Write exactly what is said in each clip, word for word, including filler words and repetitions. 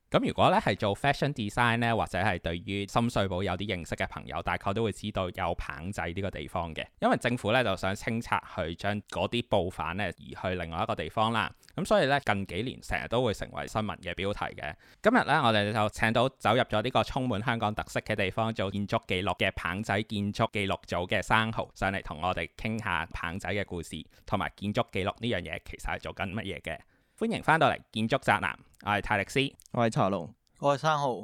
咁如果咧係做 fashion design 咧，或者係對於深水埗有啲認識嘅朋友，大概都會知道有棚仔呢個地方嘅，因為政府咧就想清拆去將嗰啲布販咧移去另外一個地方啦。咁所以咧近幾年成日都會成為新聞嘅標題嘅。今日咧我哋就請到走入咗呢個充滿香港特色嘅地方做建築記錄嘅棚仔建築記錄組嘅生蠔上嚟同我哋傾下棚仔嘅故事，同埋建築記錄呢樣嘢其實係做緊乜嘢嘅。歡迎翻到嚟建築宅男，我係泰力斯， 我係茶龍， 我係生蠔。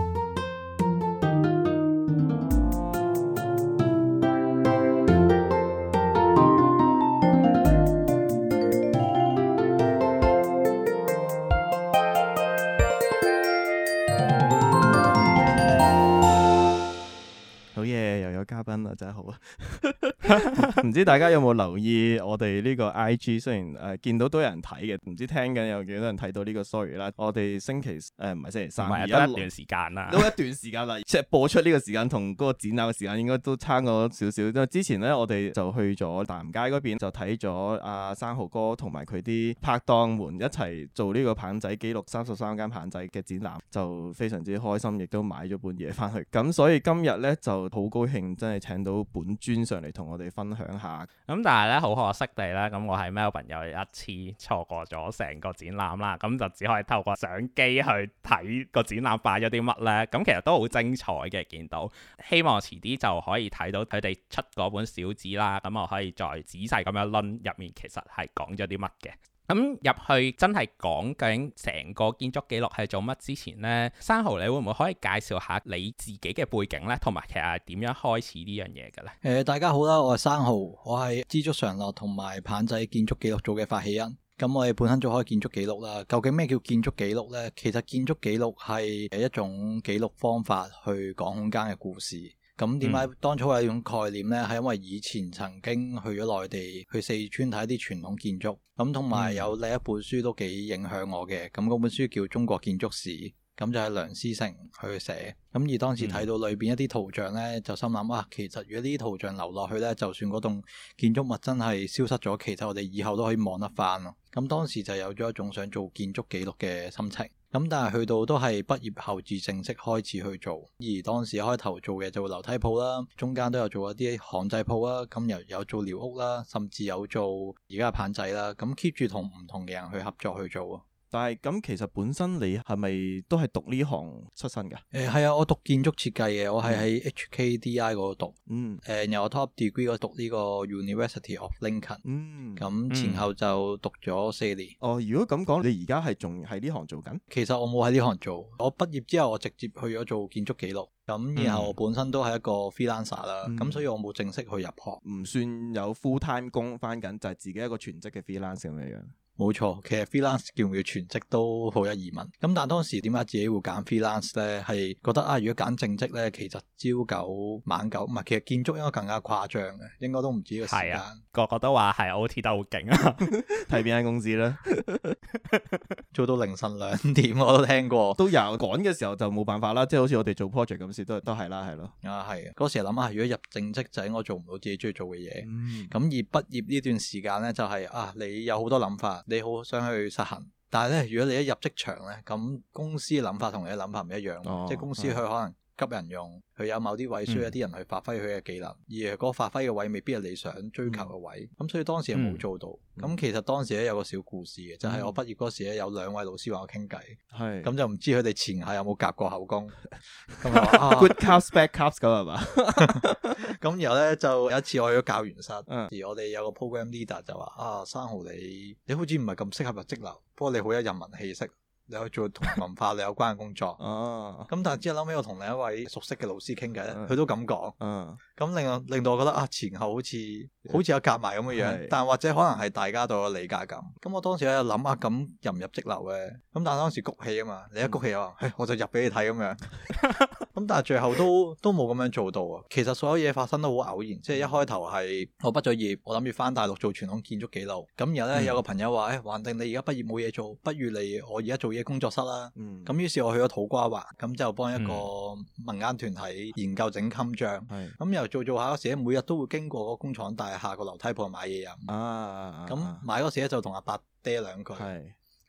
好嘢，又有嘉賓啦，真係好啊！唔知大家有冇留意我哋呢個 I G？ 雖然誒、呃、見到都有人睇嘅，唔知聽緊有幾多人睇到呢個 story 啦。我哋星期誒唔係星期三，而家一段時間啦，都一段時間啦。即係播出呢個時間同嗰個展覽嘅時間應該都差咗少少。因為之前咧，我哋就去咗大南街嗰邊，就睇咗阿生蠔哥同埋佢啲拍檔們一齊做呢個棚仔記錄三十三間棚仔嘅展覽，就非常之開心，亦都買咗本嘢翻去。咁所以今日咧就好高興，真係請到本尊上嚟同我哋分享下。 咁但係咧好可惜地咧，咁我喺 Melbourne 又一次錯過咗成個展覽啦，咁就只可以透過相機去睇個展覽擺咗啲乜咧。咁其實都好精彩嘅，見到。希望遲啲就可以睇到佢哋出嗰本小紙啦，咁我可以再仔細咁樣論入面其實係講咗啲乜嘅。咁入去真係講究竟成個建築記錄係做乜之前呢，生蠔你會唔會可以介紹下你自己嘅背景呢？同埋其實係點樣開始呢樣嘢嘅呢？誒、 呃，大家好啦，我係生蠔，我係知足常樂同埋棚仔建築記錄組嘅發起人。咁我哋本身做開建築記錄啦，究竟咩叫建築記錄呢？其實建築記錄係一種記錄方法去講空間嘅故事。咁點解當初有呢種概念呢？係因為以前曾經去咗內地，去四川睇一啲傳統建築，咁同埋有另一本書都幾影響我嘅。咁嗰本書叫《中國建築史》，咁就係梁思成去寫。咁而當時睇到裏邊一啲圖像呢，就心諗啊，其實如果呢啲圖像留落去呢，就算嗰棟建築物真係消失咗，其實我哋以後都可以望得翻咯。咁當時就有咗一種想做建築記錄嘅心情。咁但係去到都係畢業後至正式開始去做，而當時開頭做嘅就會樓梯鋪啦，中間都有做一啲巷仔鋪啦，咁又有做寮屋啦，甚至有做而家嘅棚仔啦，咁 keep 住同唔同嘅人去合作去做啊。 但係咁其實本身你係咪都係讀呢行出身㗎？ 誒係啊，我讀建築設計嘅，我係喺 H K D I 嗰度讀。 嗯。 誒然後我 top degree 嗰度讀呢個 University of Lincoln。 嗯。 咁前後就讀咗四年。 哦，如果咁講，你而家係仲喺呢行做緊？ 其實我冇喺呢行做，我畢業之後我直接去咗做建築記錄。咁然後我本身都係一個 freelancer 啦，咁、嗯、所以我冇正式去入行， 唔算有 full time 工返緊，就係、是、自己一個全職嘅 freelancer 咁樣。 冇錯，其實 freelance 叫唔叫全職都好有疑問。咁但係當時點解自己會揀 freelance 咧？係覺得啊，如果揀正職咧，其實朝九晚九，唔係，其實建築應該更加誇張嘅，應該都唔止個時間。係啊， 個個都話係 O T 得好勁啊！ 睇邊間公司咧， 做到凌晨兩點我都聽過。都有趕嘅時候就冇辦法啦，即係好似我哋做 project 咁時都都係啦，係咯。 啊係啊，嗰時諗下，如果入正職就係我做唔到自己中意做嘅嘢。咁、 嗯、 而畢業呢段時間咧，就係、是、啊，你有好多諗法。你好想去實行，但係咧，如果你一入職場咧，咁公司嘅諗法同你嘅諗法唔一樣，哦、即係公司佢可能急人用，佢有某啲位需要一啲人去發揮佢嘅技能，嗯、而嗰個發揮嘅位未必係你想追求嘅位，咁、嗯、所以當時係冇做到。咁、嗯、其實當時咧有個小故事嘅，就係、是、我畢業嗰時咧有兩位老師話我傾偈，係咁、嗯、就唔知佢哋前下有冇夾過口供。咁就話啊 good cups bad cups 咁係嘛？ 咁然後咧就有一次我去咗教員室，嗯、而我哋有個 program leader 就話啊，生蠔你你好似唔係咁適合入則樓，不過你好有人文氣息。你去做同文化你有關嘅工作，哦，咁但係之後後尾我同另一位熟悉嘅老師傾偈咧，佢、uh, 都咁講，嗯，咁令我令到我覺得啊，前後好似好似有夾埋咁嘅樣，是但或者可能係大家都有理解咁。咁我當時喺度諗啊，咁入唔入則樓嘅？咁但係當時谷氣啊嘛，你一谷氣啊，嗯、我就入俾你睇咁樣。咁但係最後都都冇咁樣做到啊。其實所有嘢發生都好偶然，即係一開頭係我畢咗業，我諗住翻大陸做傳統建築記錄。咁然後咧、嗯、有個朋友話，誒、哎，橫掂你而家畢業冇嘢做，不如嚟我而家做嘢工作室啦。咁、嗯、於是我去咗土瓜灣，咁就幫一個民間團體研究整襟章。咁、嗯、又做做下嗰時，每日都會經過個工廠大廈個樓梯鋪買嘢飲。咁、啊啊、買嗰時咧就同阿伯爹兩句。咁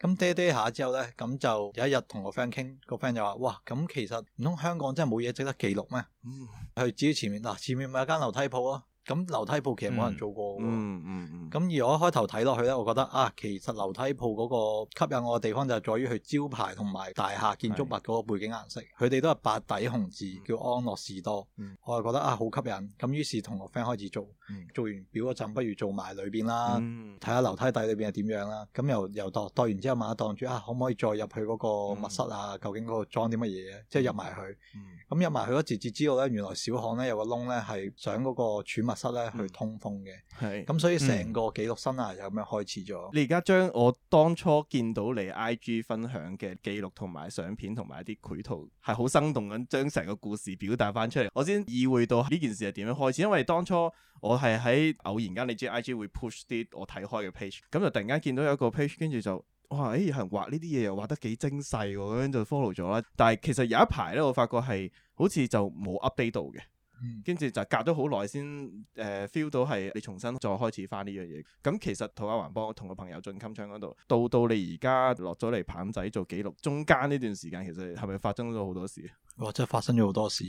咁嗲嗲下之後咧，咁就有一日同個 friend 傾，個 friend 就話：哇，咁其實唔通香港真係冇嘢值得記錄咩？嗯，去指前面嗱，前面咪有間樓梯鋪啊。咁樓梯鋪其實冇人做過喎， 嗯嗯嗯。咁、 嗯嗯、而我一開頭睇落去咧，我覺得啊，其實樓梯鋪嗰個吸引我嘅地方就係在於佢招牌同埋大廈建築物嗰個背景顏色，佢哋都係白底紅字，叫安樂士多。嗯、我就覺得啊，好吸引。咁於是同個 friend 開始做，嗯、做完表嗰陣，不如做埋裏邊啦，睇下樓梯底裏邊係點樣啦。咁又又度度完之後，萬一檔住啊，可唔可以再入去嗰個密室啊？嗯、究竟嗰個裝啲乜嘢？即係入埋去。咁入埋去嗰時至知道咧，原來小巷咧有個窿咧係想嗰個儲物室咧去通風嘅，係咁、嗯、所以成個記錄生涯就咁樣開始咗、嗯。你而家將我當初見到你 I G 分享嘅記錄同埋相片同埋一啲繪圖，係好生動咁將成個故事表達翻出嚟，我先意會到呢件事係點樣開始。因為當初我係喺偶然間，你知 I G 會 push 啲我睇開嘅 page，咁就突然間見到有一個 page，跟住就哇，誒有人畫呢啲嘢又畫得幾精細喎，咁樣就 follow 咗啦。但係其實有一排咧，我發覺係好似就冇 update 到嘅。跟住就隔咗好耐先誒 feel 到係你重新再開始翻呢樣嘢。咁其實土亞環幫同個朋友進襟槍嗰度，到到你而家落咗嚟棒仔做記錄，中間呢段時間其實係咪發生咗好多事？ 哇！真係發生咗好多事。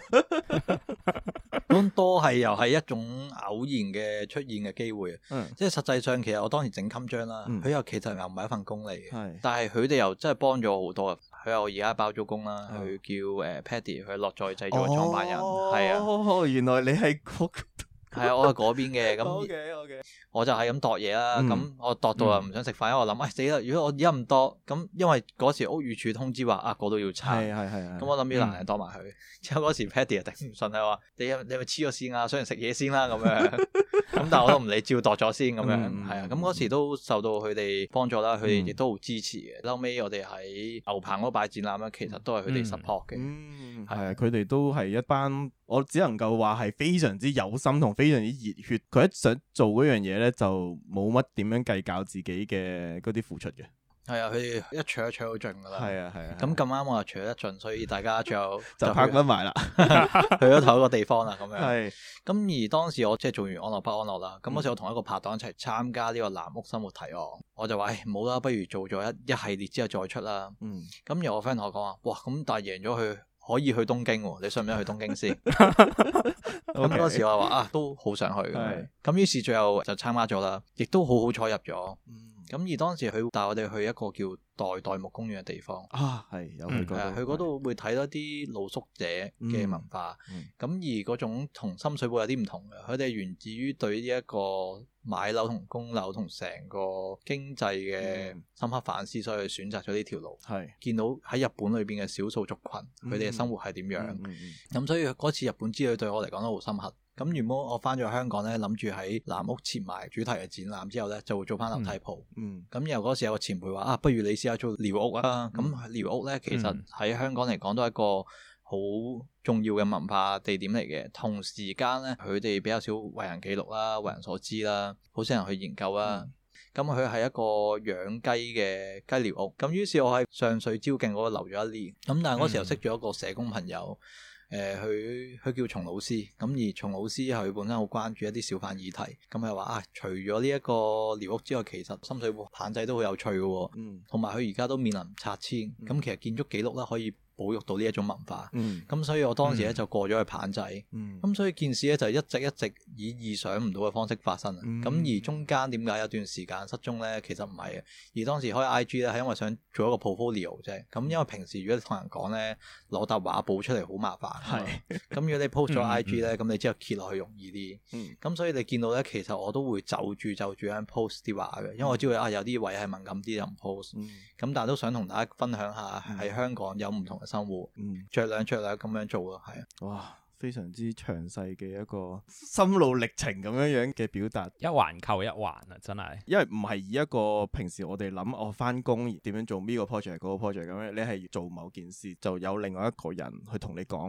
咁多係又係一種偶然嘅出現嘅機會。嗯、即係實際上其實我當時整襟章啦，佢、嗯、又其實又唔係一份工嚟嘅，是但係佢哋又真係幫咗我好多。佢又而家包租公啦，佢、哦、叫誒 Paddy，佢樂在製造嘅創辦人，係、 哦、啊。原來你係嗰係啊，我係嗰邊嘅。咁 OK OK， 我就係咁度嘢啦。咁、嗯、我度到又唔想食飯，因為我諗，哎死啦！如果我而家唔度，咁因為嗰時屋宇署通知話啊，嗰度要拆，係係係。咁我諗住難人度埋佢。嗯、之後嗰時 Paddy 又頂唔順，係話你你咪黐咗線啊，想人食嘢先啦咁樣。咁但係我都唔理，照度咗先咁樣，係、嗯、啊。咁嗰時都受到佢哋幫助啦，佢哋亦都好支持嘅。後尾我哋喺牛棚嗰擺展覽咧，其實都係佢哋 support 嘅。 嗯，係啊，佢哋都係一班，我只能夠話係非常之有心同非常之熱血。佢一想做嗰樣嘢咧，就冇乜點樣計較自己嘅嗰啲付出嘅。 係啊，佢哋一搶一搶好盡噶啦。係啊係啊。咁咁啱我又搶得盡，所以大家最後就拍翻埋啦， 去咗同一個地方啦咁樣。係是。 咁而當時我即係做完安樂不安樂啦，咁嗰時我同一個拍檔一齊參加呢個藍屋生活提案，我就話誒冇啦，不如做咗一一系列之後再出啦。嗯。咁有個 friend 同我講話，哇咁但係贏咗佢可以去東京喎，你想唔想去東京先？咁嗰時我話啊都好想去嘅，咁是於是最後就參加咗啦，亦都好好彩入咗。嗯。咁而當時佢帶我哋去一個叫代代木公園嘅地方啊，係有去過， 去嗰度會睇到啲露宿者嘅文化。咁、嗯嗯、而嗰種同深水埗有啲唔同嘅，佢哋源自於對呢一個買樓同供樓同成個經濟嘅深刻反思，所以選擇咗呢條路。係、嗯、見到喺日本裏邊嘅少數族群，佢哋嘅生活係點樣？咁、嗯嗯嗯、所以嗰次日本之旅對我嚟講都好深刻。咁原本我翻咗香港咧，諗住喺藍屋設埋主題嘅展覽之後咧，就會做翻樓梯鋪。嗯。咁然後嗰時有個前輩話：啊，不如你試下做寮屋啊！咁寮、嗯、屋咧，其實喺香港嚟講都係一個好重要嘅文化地點嚟嘅。同時間咧，佢哋比較少為人記錄啦，為人所知啦，好少人去研究啦。咁佢係一個養雞嘅雞寮屋。咁於是，我喺上水蕉徑嗰度留咗一年。咁但係嗰時又識咗一個社工朋友。誒，佢佢、呃、叫松老師，咁而松老師佢本身好關注一啲小販議題，咁佢話啊，除咗呢一個寮屋之外，其實深水埗棒仔都好有趣嘅，嗯，同埋佢而家都面臨拆遷，咁、嗯、其實建築記錄咧可以保育到呢一種文化，咁、嗯、所以我當時咧就過咗去棒仔，咁、嗯、所以件事咧就一直一直以意想唔到嘅方式發生，咁、嗯、而中間點解有段時間失蹤咧？其實唔係嘅，而當時開 I G 咧係因為想做一個 portfolio 啫，咁因為平時如果你同人講咧攞沓畫簿出嚟好麻煩，係，咁如果你 post 咗 I G 咧，咁、嗯、你之後揭落去容易啲，咁、嗯、所以你見到咧，其實我都會就住就住咁 post 啲畫嘅，因為我知道啊有啲位係敏感啲就唔 post，咁、嗯、但係都想同大家分享下喺香港有唔同嘅生活，嗯，酌量酌量咁樣做咯，係啊， 哇，非常之詳細嘅一個心路歷程咁樣樣嘅表達， 一環扣一環啊，真係， 因為唔係以一個平時我哋諗我翻工點樣做呢個 project 嗰個 project 咁樣，你係做某件事就有另外一個人去同你講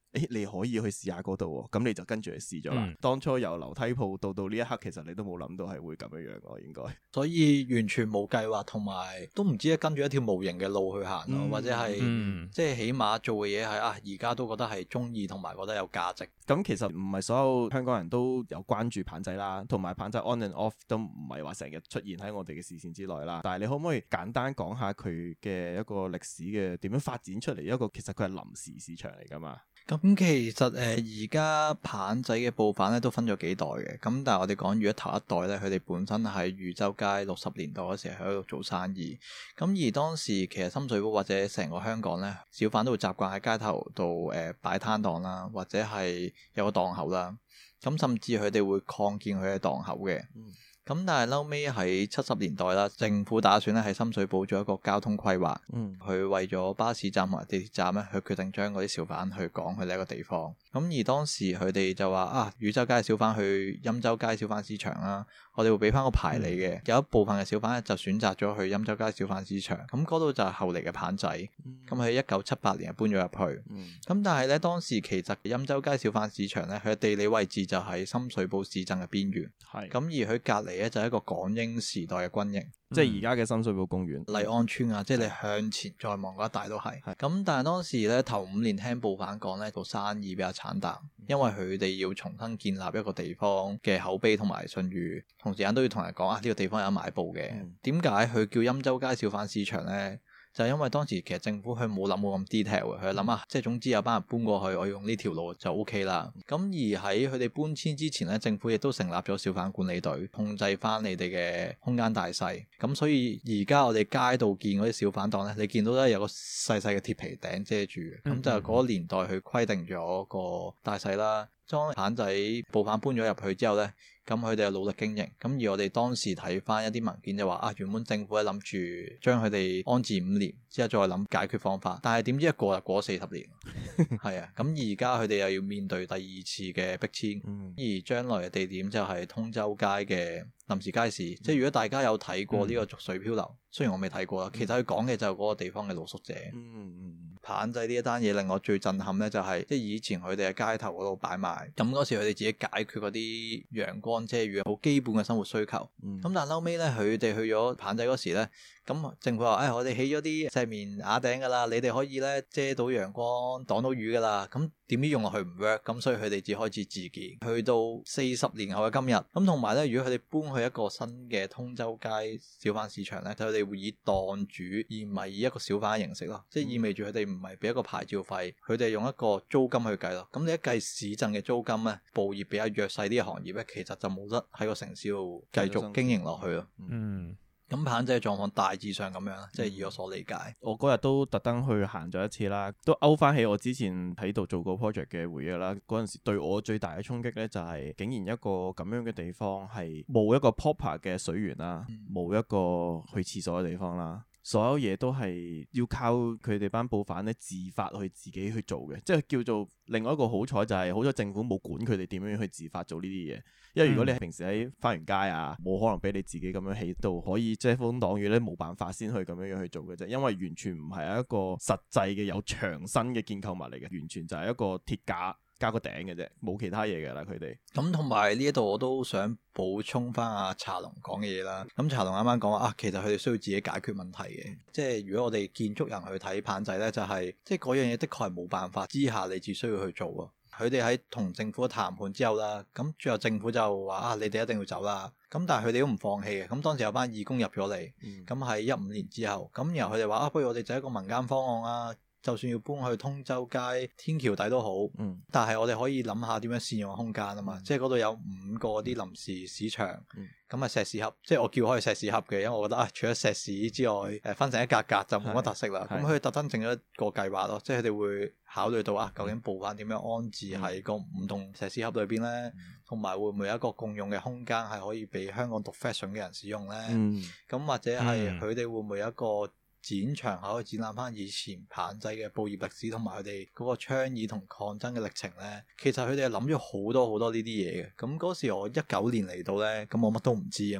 誒你可以去試下嗰度喎，咁你就跟住去試咗啦。 嗯、 當初由樓梯鋪到到呢一刻，其實你都冇諗到係會咁樣樣喎，應該。 所以完全冇計劃，同埋都唔知跟住一條無形嘅路去行咯，嗯、或者係、嗯、即係起碼做嘅嘢係啊，而家都覺得係中意同埋覺得有價值。 咁其實唔係所有香港人都有關注棒仔啦，同埋棒仔 on and off 都唔係話成日出現喺我哋嘅視線之內啦。但係你可唔可以簡單講下佢嘅一個歷史嘅點樣發展出嚟？一個其實佢係臨時市場嚟㗎嘛。 咁其實誒而家棒仔嘅布販咧都分咗幾代嘅，咁但係我哋講如果頭一代咧，佢哋本身喺汝州街六十年代嗰時喺度做生意，咁而當時其實深水埗或者成個香港咧，小販都會習慣喺街頭度誒擺攤檔啦，或者係有個檔口啦，咁甚至佢哋會擴建佢嘅檔口嘅。嗯咁但係後尾喺七十年代啦，政府打算咧喺深水埗做一個交通規劃，嗯，佢為咗巴士站同埋地鐵站咧，佢決定將嗰啲小販去趕去呢一個地方。咁而當時佢哋就話啊，汝州街小販去欽州街小販市場啦，我哋會俾翻個牌你嘅。嗯、有一部分嘅小販咧就選擇咗去欽州街小販市場，咁嗰度就係後嚟嘅棒仔。咁喺一九七八年搬咗入去。咁、嗯、但係咧當時其實欽州街小販市場咧，佢嘅地理位置就喺深水埗市鎮嘅邊緣。係是。咁而佢隔離咧就係一個港英時代嘅軍營。 即係而家嘅深水埗公園、 麗安村啊，即係你向前再望嗰一帶都係。咁是但係當時咧頭五年聽布販講咧，做生意比較慘淡，因為佢哋要重新建立一個地方嘅口碑同埋信譽，同時間都要同人講啊呢、這個地方有買布嘅。點解佢叫欽州街小販市場咧？就係因為當時其實政府佢冇諗到咁 detail 嘅，佢諗啊，即係總之有班人搬過去，我用呢條路就 OK 啦。咁而喺佢哋搬遷之前咧，政府亦都成立咗小販管理隊，控制翻你哋嘅空間大細。咁所以而家我哋街道見嗰啲小販檔咧，你見到咧有個細細嘅鐵皮頂遮住嘅，咁、嗯、就係嗰個年代去規定咗個大細啦。當棒仔布販搬咗入去之後咧，咁佢哋又努力經營。咁而我哋當時睇翻一啲文件就話啊，原本政府係諗住將佢哋安置五年，之後再諗解決方法。但係點知一過就過咗四十年，係啊。咁而家佢哋又要面對第二次嘅逼遷，嗯、而將來嘅地點就係通州街嘅臨時街市。嗯、即係如果大家有睇過呢個濁水漂流，嗯、雖然我未睇過啦，其實佢講嘅就係嗰個地方嘅露宿者。嗯嗯棒仔呢一單嘢令我最震撼咧，就係即係以前佢哋喺街頭嗰度擺賣，咁嗰時佢哋自己解決嗰啲陽光遮雨好基本嘅生活需求。咁、嗯、但係後尾咧，佢哋去咗棒仔嗰時咧，咁政府話：誒、哎，我哋起咗啲石棉瓦頂噶啦，你哋可以咧遮到陽光、擋到雨噶啦。咁點知用落去唔 work，咁所以佢哋只開始自建。去到四十年後嘅今日，咁同埋咧，如果佢哋搬去一個新嘅通州街小販市場咧，佢哋會以檔主而唔係以一個小販嘅形式咯，即係意味住佢哋唔係俾一個牌照費，佢哋用一個租金去計咯。咁你一計市鎮嘅租金咧，布業比較弱勢啲嘅行業咧，其實就冇得喺個城市度繼續經營落去咯。嗯。咁棒仔嘅狀況大致上咁樣，即係以我所理解。 我嗰日都特登去行咗一次啦，都勾翻起我之前喺度做過 project 嘅回憶啦。嗰陣時對我最大嘅衝擊呢，就係竟然一個咁樣嘅地方係冇一個 proper 嘅水源啦，冇、嗯、一個去廁所嘅地方啦。所有嘢都係要靠佢哋班布販咧自發去自己去做嘅，即係叫做另外一個好彩就係好彩政府冇管佢哋點樣去自發做呢啲嘢，因為如果你係平時喺花園街啊，冇可能俾你自己咁樣起到可以遮風擋雨咧，冇辦法先去咁樣樣去做嘅啫，因為完全唔係一個實際嘅有牆身嘅建構物嚟嘅，完全就係一個鐵架加個頂嘅啫，冇其他嘢㗎啦佢哋。 咁同埋呢一度我都想補充翻阿茶龍講嘅嘢啦。咁茶龍啱啱講話啊，其實佢哋需要自己解決問題嘅。即係如果我哋建築人去睇棒仔呢，就係、是、即係嗰樣嘢的確係冇辦法之下，你只需要去做啊。佢哋喺同政府談判之後啦，咁最後政府就話啊，你哋一定要走啦。咁但係佢哋都唔放棄嘅。咁當時有班義工入咗嚟，咁喺一五年之後，咁然後佢哋話啊，不如我哋就一個民間方案啊。就算要搬去通州街天橋底都好，嗯、但係我哋可以諗下點樣善用空間啊嘛，嗯、即係嗰度有五個啲臨時市場，咁啊、嗯、石屎盒，即係我叫開石屎盒嘅，因為我覺得啊，除咗石屎之外，誒分成一格格就冇乜特色啦。咁佢特登整咗一個計劃咯，即係佢哋會考慮到啊，究竟布販點樣安置喺個唔同石屎盒裏邊咧，同埋、嗯、會唔會有一個共用嘅空間係可以俾香港讀 fashion 嘅人使用咧？咁、嗯、或者係佢哋會唔會有一個展場可以展覽翻以前棒仔嘅布業歷史同埋佢哋嗰個倡議同抗爭嘅歷程呢？其實佢哋係諗咗好多好多呢啲嘢嘅。咁嗰時我一九年嚟到呢，咁我乜都唔知啊嘛。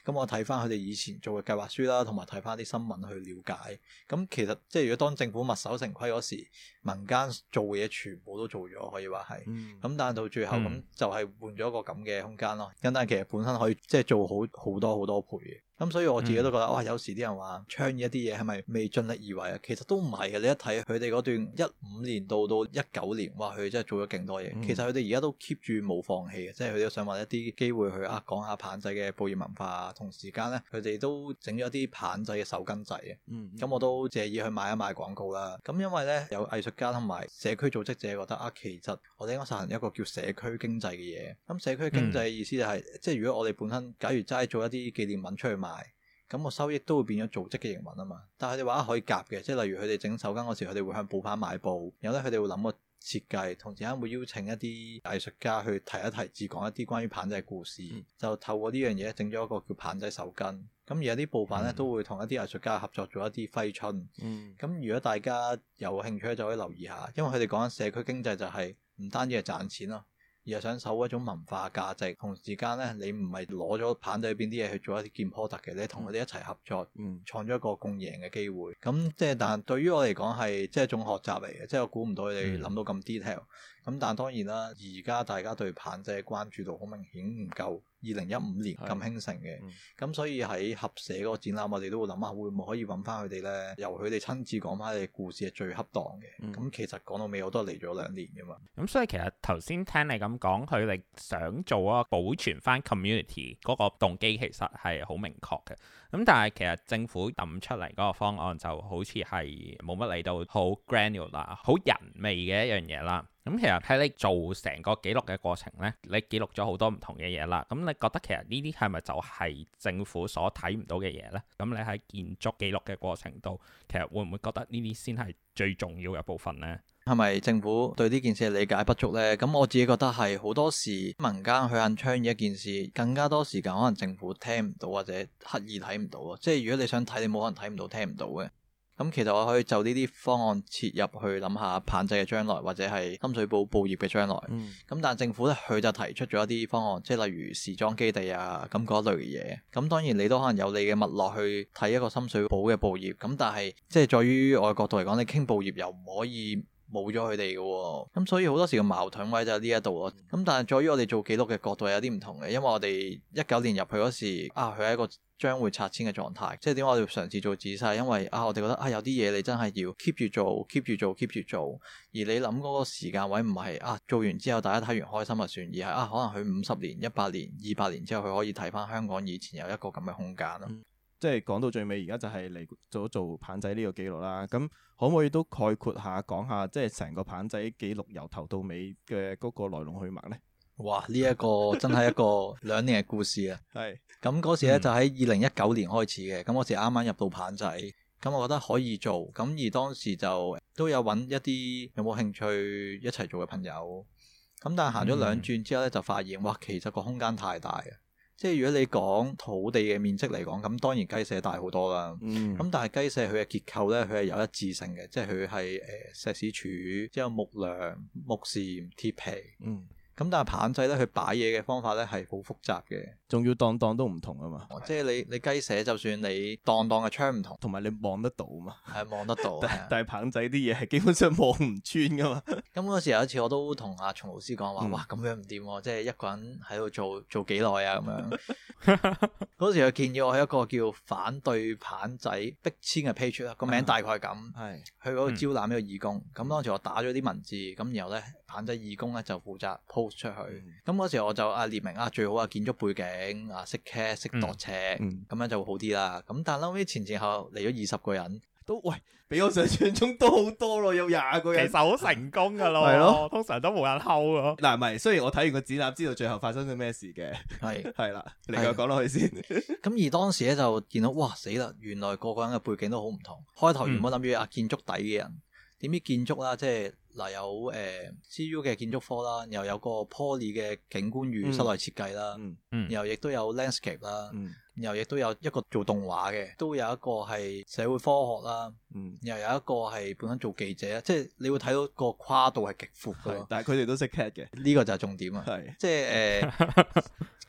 咁我睇翻佢哋以前做嘅計劃書啦，同埋睇翻啲新聞去了解。咁其實即係如果當政府墨守成規嗰時，民間做嘅嘢全部都做咗，可以話係。咁、嗯、但係到最後咁、嗯、就係換咗一個咁嘅空間咯。咁但係其實本身可以即係做好好多好多倍嘅。咁所以我自己都覺得，嗯、哇！有時啲人話倡議一啲嘢係咪未盡力而為啊？其實都唔係嘅。你一睇佢哋嗰段一五年到到一九年，哇！佢真係做咗勁多嘢。嗯、其實佢哋而家都 keep 住冇放棄嘅，即係佢哋都想揾一啲機會去啊講下棚仔嘅報業文化啊。同時間咧，佢哋都整咗啲棚仔嘅手巾仔嘅。咁、嗯嗯、我都借意去買一買廣告啦。咁因為咧有藝術家同埋社區組織者覺得啊，其實我哋應該實行一個叫社區經濟嘅嘢。咁社區經濟嘅意思就係、是，嗯、即係如果我哋本身假如齋做一啲紀念品出去賣。咁個收益都會變咗組織嘅營運啊嘛，但係佢哋話可以夾嘅，即係例如佢哋整手巾嗰時，佢哋會向布販買布，然後咧佢哋會諗個設計，同時間會邀請一啲藝術家去提一提，自講一啲關於棚仔嘅故事，嗯、就透過呢樣嘢整咗一個叫棚仔手巾。咁而有啲布販咧、嗯、都會同一啲藝術家合作做一啲揮春。咁、嗯、如果大家有興趣咧，就可以留意下，因為佢哋講緊社區經濟就係唔單止係賺錢咯。而係想守一種文化價值，同時間咧，你唔係攞咗棚仔入邊啲嘢去做一啲件 product 嘅，你同佢哋一齊合作，嗯、創咗一個共贏嘅機會。咁即係，但係對於我嚟講係即係一種學習嚟嘅，即係我估唔到佢哋諗到咁 detail。咁但係當然啦，而家大家對棚仔嘅關注度好明顯唔夠二零一五年咁興盛嘅。咁、嗯、所以喺合社嗰個展覽，我哋都會諗下會唔會可以揾翻佢哋咧，由佢哋親自講翻佢哋故事係最恰當嘅。咁、嗯、其實講到尾我都係嚟咗兩年噶嘛。咁所以其實頭先聽你咁講，佢哋想做啊保存翻 community 嗰個動機其實係好明確嘅。咁但係其實政府抌出嚟嗰個方案就好似係冇乜嚟到好 granular 好人味嘅一樣嘢啦。咁其實喺你做成個記錄嘅過程呢，你記錄咗好多唔同嘅嘢啦。咁你覺得其實呢啲係咪就係政府所睇唔到嘅嘢呢？咁你喺建築記錄嘅過程度，其實會唔會覺得呢啲先係最重要嘅部分呢？ 係咪政府對呢件事嘅理解不足呢？咁我自己覺得係好多時民間去肯倡議一件事，更加多時間可能政府聽唔到或者刻意睇唔到啊。即係如果你想睇，你冇可能睇唔到聽唔到嘅。咁其實我可以就呢啲方案切入去諗下棚仔嘅將來，或者係深水埗報業嘅將來。咁、嗯、但係政府咧，佢就提出咗一啲方案，即係例如時裝基地啊，咁嗰類嘅嘢。咁當然你都可能有你嘅脈絡去睇一個深水埗嘅報業。咁但係即係在於我嘅角度嚟講，你傾報業又唔可以冇咗佢哋嘅。咁所以好多時嘅矛盾位就喺呢一度咯。咁但係在於我哋做記錄嘅角度係有啲唔同嘅，因為我哋一九年入去嗰時啊，佢係一個將會拆遷嘅狀態，即係點解我哋嘗試做仔細？因為啊，我哋覺得啊，有啲嘢你真係要 keep 住做，keep 住做，keep 住做。而你諗嗰個時間位唔係啊，做完之後大家睇完開心就算，而係啊，可能佢五十年、一百年、二百年之後，佢可以睇翻香港以前有一個咁嘅空間咯。 嗯，即係講到最尾，而家就係嚟做做棚仔呢個記錄啦。咁可唔可以都概括下講下，即係成個棚仔記錄由頭到尾嘅嗰個來龍去脈呢？ 哇！呢、這、一個真係一個兩年嘅故事啊。係咁嗰時咧，就喺二零一九年開始嘅。咁嗰時啱啱入到棚仔，咁我覺得可以做。咁而當時就都有揾一啲有冇興趣一齊做嘅朋友。咁但係行咗兩轉之後咧，就發現哇，其實個空間太大啊！即係如果你講土地嘅面積嚟講，咁當然雞舍大好多啦。咁、嗯、但係雞舍佢嘅結構咧，佢係有一致性嘅，即係佢係誒石屎柱，之後木梁、木檐、鐵皮。嗯。咁但係棚仔咧，佢擺嘢嘅方法咧係好複雜嘅， 仲要檔檔都唔同啊嘛。 即係你你雞舍，就算你檔檔嘅窗唔同， 同埋你望得到啊嘛。係望得到。但但係棚仔啲嘢係基本上望唔穿噶嘛。 咁嗰時有一次我都同阿松老師講話，嗯、哇咁樣唔掂喎，即係一個人喺度做做幾耐啊咁樣。嗰時佢建議我係一個叫反對棚仔逼遷嘅 page 啦，個名大概係咁。係、嗯。去嗰度招攬呢個義工，咁、嗯、當時我打咗啲文字，咁然後咧棚仔義工咧就負責 post 出去。咁嗰、嗯、時我就啊列明啊最好啊建築背景啊識 cat 識度尺，咁、嗯、樣就會好啲啦。咁但係後尾前前後嚟咗二十個人， 都喂比我想象中多好多咯，有廿個人， 其實好成功噶咯。係咯，通常都冇人睺咯。嗱，唔係，雖然我睇完個展覽知道最後發生咗咩事嘅，係係啦，你繼續講落去先。 咁而當時咧就見到哇死啦，原來個個人嘅背景都好唔同。開頭原本諗住啊建築底嘅人，點知建築啦即係。嗱有誒 C U 嘅建築科啦，又有個 Poly 嘅景觀與室內設計啦，嗯嗯、然後亦都有 landscape 啦，嗯、然後亦都有一個做動畫嘅，都有一個係社會科學啦，嗯、然後有一個係本身做記者，即係你會睇到個跨度係極闊嘅， 但係佢哋都識 cat 嘅， 呢個就係重點啊，是即係誒。呃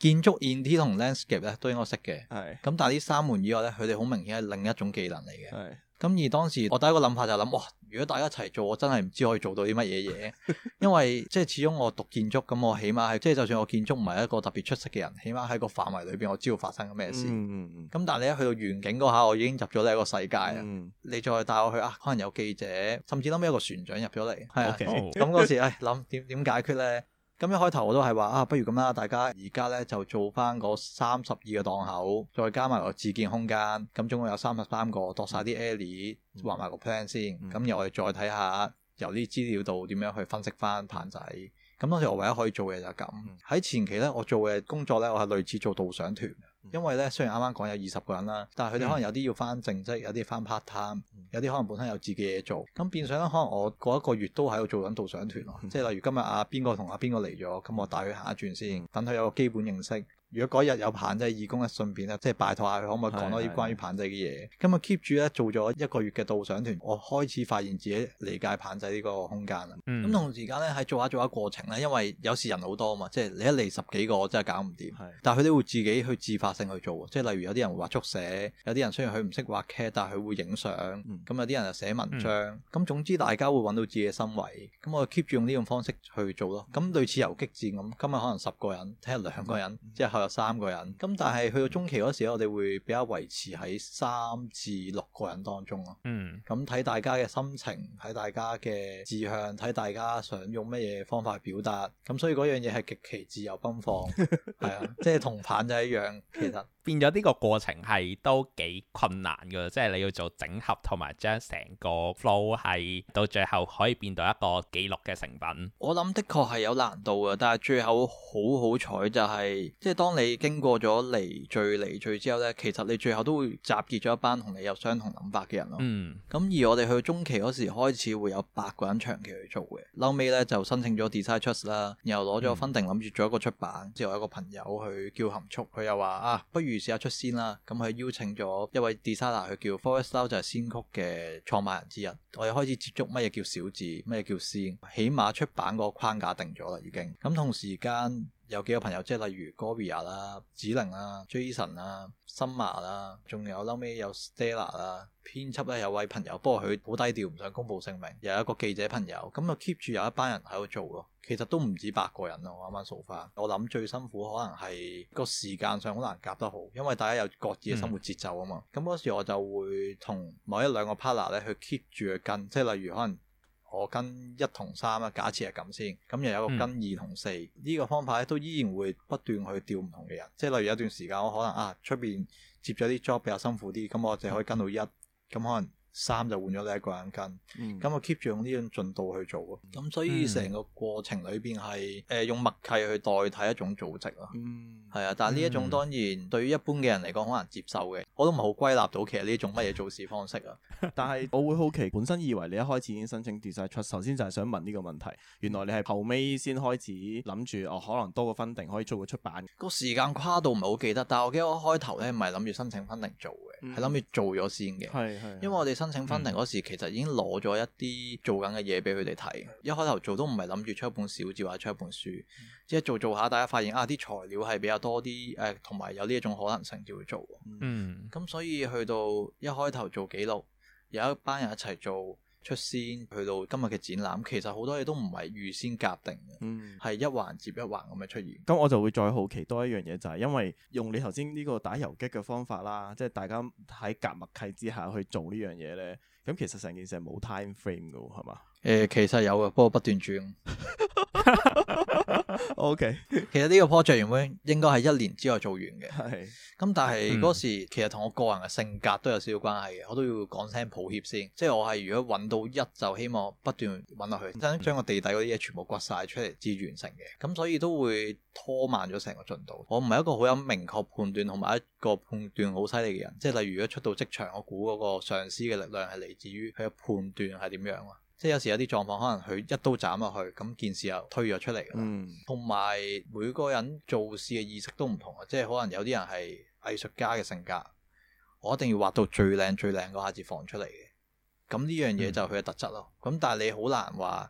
建築 Int 同 Landscape 咧都應該識嘅。 係。 咁但係呢三門以外咧，佢哋好明顯係另一種技能嚟嘅。 係。 咁而當時我第一個諗法就係諗，哇！如果大家一齊做，我真係唔知可以做到啲乜嘢嘢。因為即係始終我讀建築，咁我起碼係即係就算我建築唔係一個特別出色嘅人，起碼喺個範圍裏邊我知道發生緊咩事。咁、嗯嗯、但係你一去到園景嗰下，我已經入咗呢一個世界啦。嗯、你再帶我去啊，可能有記者，甚至諗起一個船長入咗嚟。係啊，咁嗰時唉諗點點解決咧？咁一開頭我都係話啊，不如咁啦，大家而家咧就做翻嗰三十二個檔口，再加埋個自建空間，咁總共有三十三個，度晒啲 alley，畫埋個 plan 先，咁、嗯、然後我哋再睇下由啲資料度點樣去分析翻棚仔。咁當時我唯一可以做嘅就係咁。喺、嗯、前期咧，我做嘅工作咧，我係類似做導賞團。因為咧，雖然啱啱講有二十個人啦，但係佢哋可能有啲要翻正職，有啲翻 part time，有啲可能本身有自己嘢做。咁變相咧，可能我嗰一個月都喺度做緊導賞團咯。即係例如今日阿邊個同阿邊個嚟咗，咁我帶佢行一轉先，等佢有個基本認識。如果嗰日有棚仔義工咧，順便咧即係拜託下佢可唔可以講多啲關於棚仔嘅嘢。咁啊 keep 住咧做咗一個月嘅導賞團，我開始發現自己理解棚仔呢個空間啦。咁、嗯、同時間咧喺做下做下過程咧，因為有時人好多啊嘛，即係你一嚟十幾個真係搞唔掂。但係佢哋會自己去自發性去做，即係例如有啲人會畫速寫，有啲人雖然佢唔識畫 C A D，但係佢會影相。咁、嗯、有啲人就寫文章。咁、嗯、總之大家會揾到自己嘅心位。咁我 keep 住用呢種方式去做咯。咁類似游擊戰咁，今日可能十個人，聽日兩個人，之後有三個人。咁但係去到中期嗰時，我哋會比較維持喺三至六個人當中咯。嗯。咁睇大家嘅心情，睇大家嘅志向，睇大家想用乜嘢方法去表達。咁所以嗰樣嘢係極其自由奔放，係啊，即係同棒仔一樣，其實。 變咗呢個過程係都幾困難㗎，即係你要做整合同埋將成個 flow 係到最後可以變到一個記錄嘅成品。 我諗的確係有難度嘅，但係最後好好彩就係、是，即係當你經過咗離聚離聚之後呢，其實你最後都會集結咗一班同你有相同諗法嘅人咯。嗯。咁而我哋去到中期嗰時開始會有八個人長期去做嘅，後尾呢就申請咗 Design Trust 啦，然後攞咗 funding 諗住做一個出版，之後有一個朋友去叫含蓄，佢又話啊，不如試下出先啦，咁佢邀請咗一位 designer，佢叫 Forest Lau，就係先曲嘅創辦人之一。我哋開始接觸乜嘢叫小字，乜嘢叫先，起碼出版個框架定咗啦，已經。咁同時間有幾個朋友，即係例如 Goria 啦、子玲啦、Jason 啦、Summer 啦，仲有後尾有 Stella 啦。編輯咧有位朋友，不過佢好低調，唔想公佈姓名。又有一個記者朋友，咁就 keep 住有一班人喺度做咯。其實都唔止八個人咯，我啱啱數翻。我諗最辛苦可能係個時間上好難夾得好，因為大家有各自嘅生活節奏啊嘛。咁嗰、嗯、時我就會同某一兩個 partner 咧去 keep 住去跟，即係例如可能我跟一同三啦，假設係咁先。咁又有一個跟二同四，呢、嗯、個方法咧都依然會不斷去調唔同嘅人。即係例如有段時間我可能啊出邊接咗啲 job 比較辛苦啲，咁我就可以跟到一。咁可能三就換咗你一個人跟，咁、嗯、我 keep 住用呢種進度去做咯。咁、嗯、所以成個過程裏邊係誒用默契去代替一種組織咯。嗯，係啊，但係呢一種當然對於一般嘅人嚟講好難接受嘅。我都唔係好歸納到其實呢種乜嘢做事方式啊。 但係我會好奇，本身以為你一開始已經申請 Design Trust，首先就係想問呢個問題。原來你係後尾先開始諗住哦，可能多個 funding可以做個出版。 個時間跨度唔係好記得，但係我記得我開頭咧唔係諗住申請 funding 做嘅，係諗住做咗先嘅。係係，因為我哋申請 funding 嗰時其實已經攞咗一啲做緊嘅嘢俾佢哋睇。一開頭做都唔係諗住出一本小誌或者出一本書，即係做做下，大家發現啊啲材料係比較多啲誒，同埋有呢一種可能性就會做。嗯，咁所以去到一開頭做記錄，有一班人一齊做出先，去到今日嘅展覽，其實好多嘢都唔係預先夾定嘅，嗯，係一環接一環咁嘅出現。 咁我就會再好奇多一樣嘢，就係因為用你頭先呢個打游擊嘅方法啦，即係大家喺夾默契之下去做呢樣嘢咧，咁其實成件事係冇 time frame 㗎喎，係嘛？ 誒、呃，其實有嘅，不過不斷轉。 O K， 其實呢個 project 原本應該係一年之內做完嘅，係是。 咁但係嗰時其實同我個人嘅性格都有少少關係嘅，我都要講聲抱歉先。即係我係如果揾到一就希望不斷揾落去，將將個地底嗰啲嘢全部掘晒出嚟至完成嘅。咁所以都會拖慢咗成個進度。我唔係一個好有明確判斷同埋一個判斷好犀利嘅人。即係例如如果出到職場，我估嗰個上司嘅力量係嚟自於佢嘅判斷係點樣啊。即係有時有啲狀況，可能佢一刀斬落去，咁件事又推咗出嚟㗎啦。同埋、嗯、每個人做事嘅意識都唔同啊，即係可能有啲人係藝術家嘅性格，我一定要畫到最靚最靚嗰下至放出嚟嘅。咁呢樣嘢就係佢嘅特質咯。咁、嗯、但係你好難話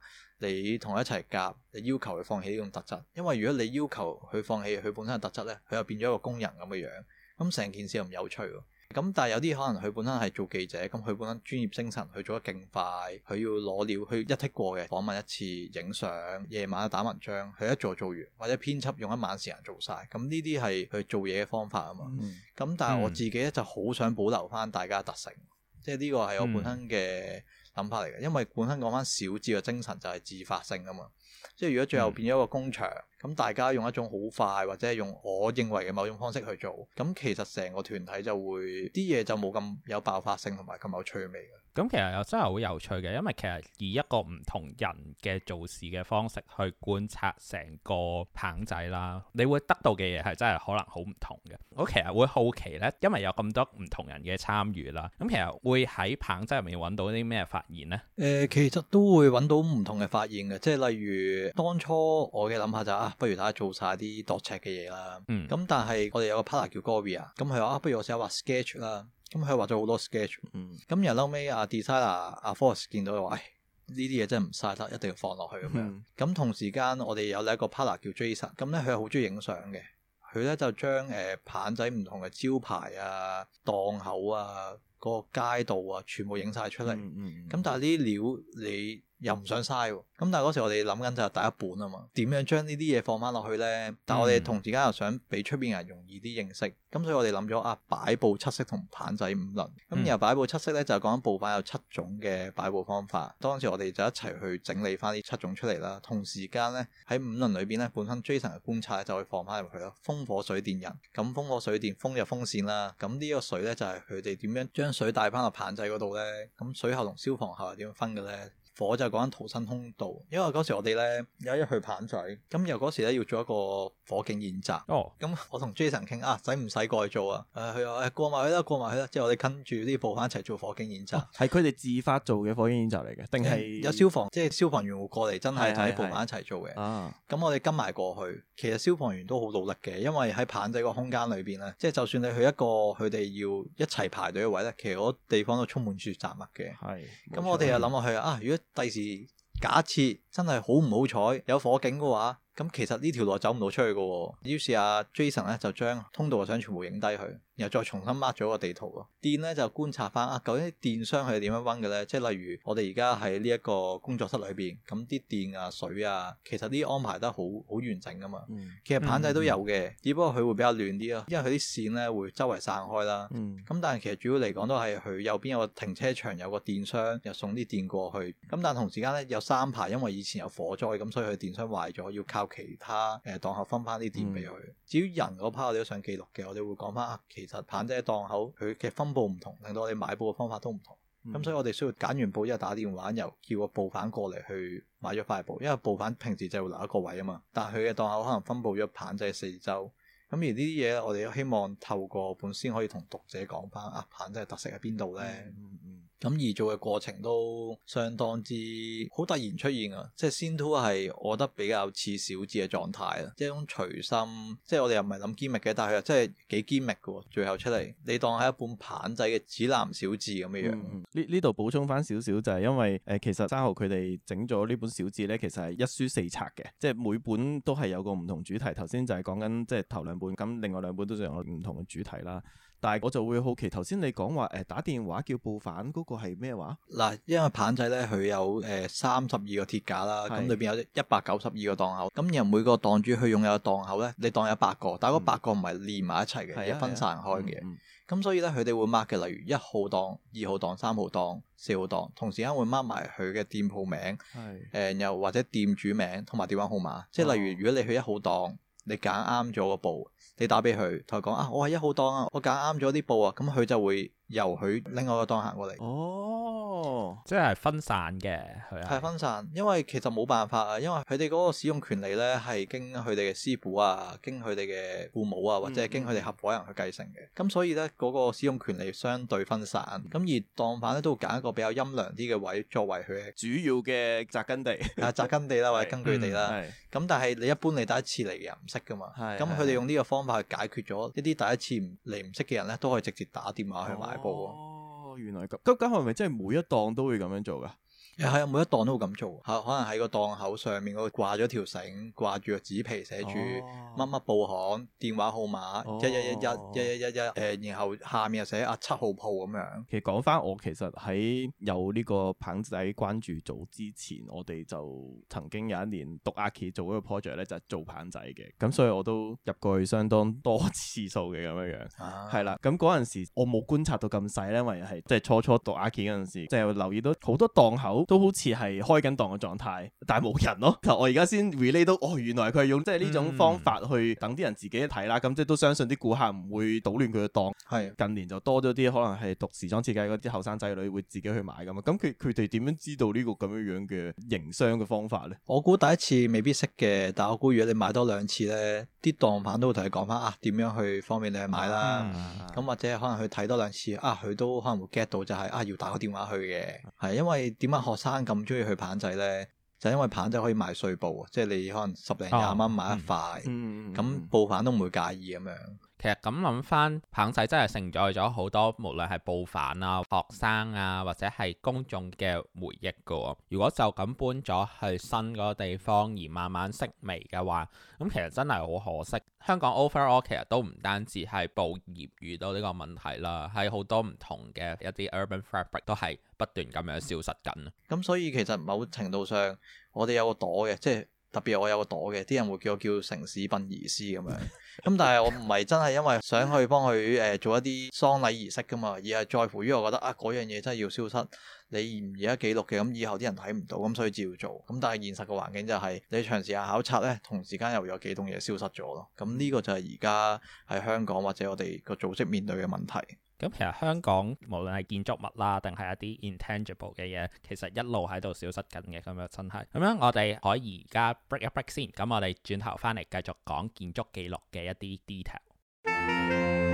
你同佢一齊夾，你要求佢放棄呢種特質，因為如果你要求佢放棄佢本身嘅特質咧，佢又變咗一個工人咁嘅樣，咁成件事又唔有趣喎。咁但係有啲可能佢本身係做記者，咁佢本身專業精神，佢做得勁快，佢要攞料，佢一剔過嘅訪問一次，影相，夜晚打文章，佢一做做完，或者編輯用一晚時間做晒，咁呢啲係佢做嘢嘅方法啊嘛。咁、嗯、但係我自己咧就好想保留翻大家嘅特性，即係呢個係我本身嘅諗法嚟嘅，因為本身講翻小資嘅精神就係自發性啊嘛。即係如果最後變咗一個工場，咁、嗯、大家用一種好快或者係用我認為嘅某種方式去做，咁其實成個團體就會啲嘢就冇咁有爆發性同埋咁有趣味嘅。 咁其實又真係好有趣嘅，因為其實以一個唔同人嘅做事嘅方式去觀察成個棚仔啦，你會得到嘅嘢係真係可能好唔同嘅。我其實會好奇呢，因為有咁多唔同人嘅參與啦，咁其實會喺棚仔入面揾到啲咩發現呢？ 誒、呃，其實都會揾到唔同嘅發現嘅，即係例如當初我嘅諗法就係、啊，不如大家做晒啲度尺嘅嘢啦。嗯。咁但係我哋有個 partner 叫 Goria，咁佢話啊，不如我試下畫 sketch 啦。咁佢畫咗好多 sketch，咁然後後尾阿 designer 阿 Force 見到話，唉，呢啲嘢真係唔嘥得，一定要放落去咁樣。咁、嗯、同時間我哋有另一個 partner 叫 Jason，咁咧佢係好中意影相嘅，佢咧就將誒棚仔唔同嘅招牌啊、檔口啊、嗰、那個街道啊，全部影晒出嚟。咁、嗯嗯、但係呢啲料你又唔想嘥喎，咁但係嗰時我哋諗緊就係第一本啊嘛，點樣將呢啲嘢放翻落去呢？但係我哋同時間又想俾出邊人容易啲認識，咁所以我哋諗咗啊，擺布七色同棚仔五輪，咁然後擺布七色呢，就係講緊布板有七種嘅擺布方法，當時我哋就一齊去整理翻呢七種出嚟啦。同時間呢，喺五輪裏邊呢，本身 Jason 嘅觀察就會放翻入去咯。風火水電人，咁風火水電，風就風扇啦，咁呢個水呢，就係佢哋點樣將水帶翻落棚仔嗰度呢？咁水喉同消防喉係點樣分嘅呢？火就講緊逃生通道，因為嗰時我哋咧有一去棚仔，咁又嗰時咧要做一個火警演習。哦，咁我同 Jason 傾啊，使唔使過去做啊？誒、呃，佢話誒過埋去啦，過埋去啦。之後我哋跟住啲部翻一齊做火警演習。 係佢哋自發做嘅火警演習嚟嘅，定係有消防，即係消防員會過嚟，真係同啲部翻一齊做嘅。啊，咁我哋跟埋過去，其實消防員都好努力嘅，因為喺棚仔個空間裏邊咧，即係就算你去一個佢哋要一齊排隊嘅位咧，其實嗰地方都充滿住雜物嘅。係，咁我哋又諗落去啊，如果第時假設真係好唔好彩有火警嘅話，咁其實呢條路走唔到出去嘅。於是阿 Jason 咧就將通道嘅相全部影低佢，然後再重新 mark 咗個地圖咯。電咧就觀察翻啊，究竟啲電箱係點樣溫嘅咧？即係例如我哋而家喺呢一個工作室裏邊，咁啲電啊、水啊，其實啲安排得好好完整噶嘛。嗯、其實棚仔都有嘅，嗯、只不過佢會比較亂啲咯，因為佢啲線咧會周圍散開啦。咁、嗯、但係其實主要嚟講都係佢右邊有個停車場，有個電箱，又送啲電過去。咁但係同時間咧有三排，因為以前有火災，咁所以佢電箱壞咗，要靠其他誒檔口分翻啲電俾佢。嗯、至於人嗰 part 我哋都想記錄嘅，我哋會講翻啊，其實棚仔檔口佢嘅分佈唔同，令到我哋買布嘅方法都唔同。咁、嗯、所以我哋需要揀完布之後打電話，又叫個布販過嚟去買咗塊布，因為布販平時就會留一個位啊嘛，但係佢嘅檔口可能分佈咗棚仔四周。咁而呢啲嘢我哋都希望透過本先可以同讀者講翻啊，棚仔特色喺邊度呢？嗯嗯咁而做嘅過程都相當之好突然出現啊！即係 Scene two係我覺得比較似小誌嘅狀態啦，即係一種隨心，即係我哋又唔係諗堅密嘅，但係又真係幾堅密嘅。最後出嚟，你當係一本棚仔嘅指南小誌咁嘅樣。 呢呢度補充翻少少就係因為誒、呃，其實生蠔佢哋整咗呢本小誌咧，其實係一書四冊嘅，即係每本都係有個唔同主題。頭先就係講緊即係頭兩本，咁另外兩本都仲有唔同嘅主題啦。但係我就會好奇，頭先你講話誒打電話叫布販嗰個係咩話？ 嗱，因為棚仔咧佢有誒三十二個鐵架啦，咁裏邊有一百九十二個檔口，咁然後每個檔主佢擁有嘅檔口咧，你當有八個，但係嗰八個唔係連埋一齊嘅，係、嗯、分散開嘅。咁、嗯嗯、所以咧佢哋會 mark 嘅，例如一號檔、二號檔、三號檔、四號檔，同時間會 mark 埋佢嘅店鋪名，誒又、呃、或者店主名同埋電話號碼。即係例如如果你去一號檔，你揀啱咗個布，你打俾佢，同佢講啊，我係一號檔啊，我揀啱咗啲布啊，咁佢就會由佢另外個檔行過嚟。 哦， 即係分散嘅，係係分散，因為其實冇辦法啊，因為佢哋嗰個使用權利咧係經佢哋嘅師傅啊，經佢哋嘅父母啊，或者係經佢哋合夥人去繼承嘅。咁、嗯、所以咧嗰、嗰個使用權利相對分散。咁、嗯、而檔販咧都會揀一個比較陰涼啲嘅位作為佢嘅主要嘅紮根地， 係紮根地啦，或者根據地啦。咁、嗯、但係你一般你第一次嚟嘅人唔識噶嘛，咁佢哋用呢個方法去解決咗一啲第一次嚟唔識嘅人咧，都可以直接打電話去買布。 哦，原來咁，咁咁係咪真係每一檔都會咁樣做噶？ 係啊，每一檔都會咁做，可能喺個檔口上面嗰度掛咗條繩，掛住個紙皮寫住乜乜報行電話號碼一一一一一一一一，誒，然後下面又寫啊七號鋪咁樣。 其實講翻我其實喺有呢個棚仔關注組之前，我哋就曾經有一年讀 Archi 做嗰個 project 咧，就係做棚仔嘅，咁所以我都入過去相當多次數嘅咁樣樣，係啦、啊。咁嗰陣時我冇觀察到咁細咧，因為係即係初初讀 Archi 嗰陣時，即係留意到好多檔口都好似係開緊檔嘅狀態，但係冇人咯。我而家先 relate 到，哦，原來佢係用即係呢種方法去等啲人自己一睇啦。咁、嗯、即係都相信啲顧客唔會搗亂佢嘅檔。係的近年就多咗啲可能係讀時裝設計嗰啲後生仔女會自己去買㗎嘛。咁佢佢哋點樣知道呢個咁樣樣嘅營商嘅方法咧？ 我估第一次未必識嘅，但我估如果你買多兩次咧，啲檔販都會同你講翻啊點樣去方便你去買啦。咁、嗯、或者可能去睇多兩次啊，佢都可能會 get 到就係、是、啊要打個電話去嘅。係因為點解學生咁中意去棚仔咧？就因為棚仔可以賣碎布，即係你可能十零廿蚊買一塊，咁、嗯嗯、布販都唔會介意咁樣。 其實咁諗翻，棚仔真係承載咗好多，無論係布販啊、學生啊，或者係公眾嘅回憶噶。如果就咁搬咗去新嗰個地方而慢慢式微嘅話，咁其實真係好可惜。香港 overall 其實都唔單止係布業遇到呢個問題啦，喺好多唔同嘅一啲 urban fabric 都係不斷咁樣消失緊。 咁所以其實某程度上，我哋有個朵嘅，即係特別我有個朵嘅，啲人會叫我叫城市殯儀師咁樣。咁但係我唔係真係因為想去幫佢誒、呃、做一啲喪禮儀式噶嘛，而係在乎於我覺得啊嗰樣嘢真係要消失，你唔而家記錄嘅，咁以後啲人睇唔到，咁所以照做。咁但係現實嘅環境就係、是、你長時間考察咧，同時間又有幾棟嘢消失咗咯。咁呢個就係而家喺香港或者我哋個組織面對嘅問題。 咁其實香港無論係建築物啦，定係一啲 intangible 嘅嘢，其實一路喺度消失緊嘅，咁樣真係。咁樣我哋可以而家 break 一 break 先，咁我哋轉頭翻嚟繼續講建築記錄嘅一啲 detail。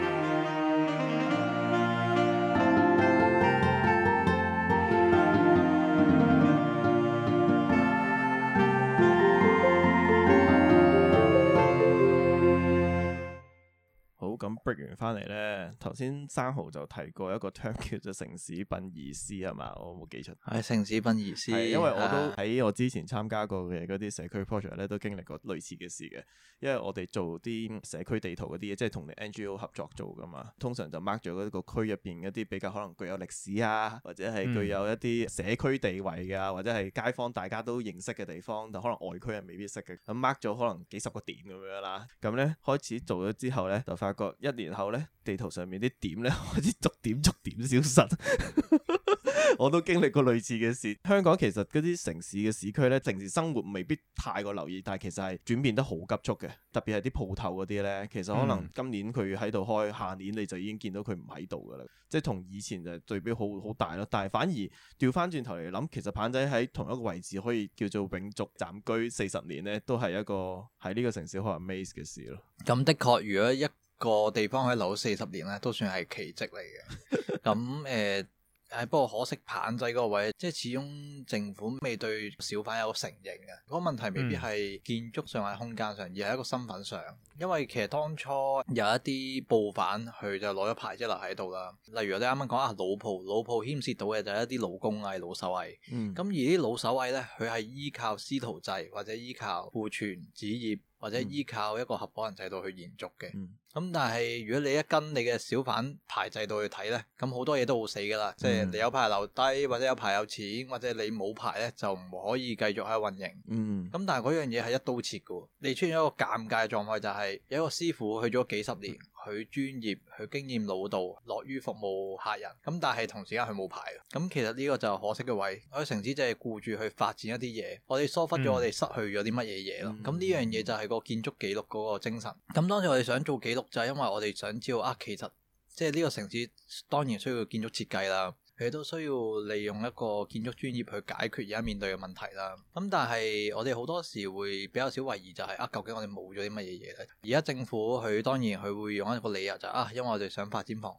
咁 break 完翻嚟咧，頭先生蠔就提過一個 term 叫做城市殯儀師係嘛？我冇記錯。 係城市殯儀師。係因為我都喺我之前參加過嘅嗰啲社區 project 咧，都經歷過類似嘅事嘅。因為我哋做啲社區地圖嗰啲嘢，即係同啲 N G O 合作做噶嘛。通常就 mark 咗嗰個區入邊一啲比較可能具有歷史啊，或者係具有一啲社區地位啊，或者係街坊大家都認識嘅地方，但可能外區人未必識嘅。咁 mark 咗可能幾十個點咁樣啦。咁咧開始做咗之後咧，就發覺一年後咧，地圖上面啲點咧開始逐點逐點消失。我都經歷過類似嘅事。香港其實嗰啲城市嘅市區咧，平時生活未必太過留意，但係其實係轉變得好急速嘅。特別係啲鋪頭嗰啲咧，其實可能今年佢喺度開，下年你就已經見到佢唔喺度噶啦。即係同以前就對比好好大咯。但係反而調翻轉頭嚟諗，其實棚仔喺同一個位置可以叫做永續暫居四十年咧，都係一個喺呢個城市好 amaze 嘅事咯。 咁的確，如果一個地方可以留四十年咧，都算係奇蹟嚟嘅。咁誒。誒，不過可惜棚仔嗰個位，即係始終政府未對小販有個承認嘅。嗰、那個問題未必係建築上或者空間上，而係一個身份上。因為其實當初有一啲布販佢就攞咗牌即係留喺度啦。例如我哋啱啱講啊，老鋪老鋪牽涉到嘅就係一啲老工藝、老手藝。嗯。咁而啲老手藝咧，佢係依靠師徒制或者依靠父傳子業，或者依靠一個合夥人制度去延續嘅。嗯。咁但係如果你一跟你嘅小販牌制度去睇咧，咁好多嘢都好死噶啦。嗯、即係你有牌留低，或者有牌有錢，或者你冇牌咧就唔可以繼續喺度運營。嗯。咁但係嗰樣嘢係一刀切嘅，你出現一個尷尬嘅狀況就係、是、有一個師傅去咗幾十年，佢專業，佢經驗老道，樂於服務客人。咁但係同時間佢冇牌。咁其實呢個就可惜嘅位。我哋城市就係顧住去發展一啲嘢，我哋疏忽咗我哋失去咗啲乜嘢嘢咯。咁呢、嗯、樣嘢就係個建築記錄嗰個精神。咁當時我哋想做記錄就係因為我哋想知道啊，其實即係呢個城市當然需要建築設計啦，佢都需要利用一個建築專業去解決而家面對嘅問題啦。咁但係我哋好多時會比較少懷疑就係、是、啊，究竟我哋冇咗啲乜嘢嘢咧？而家政府佢當然佢會用一個理由就係、是、啊，因為我哋想發展房屋。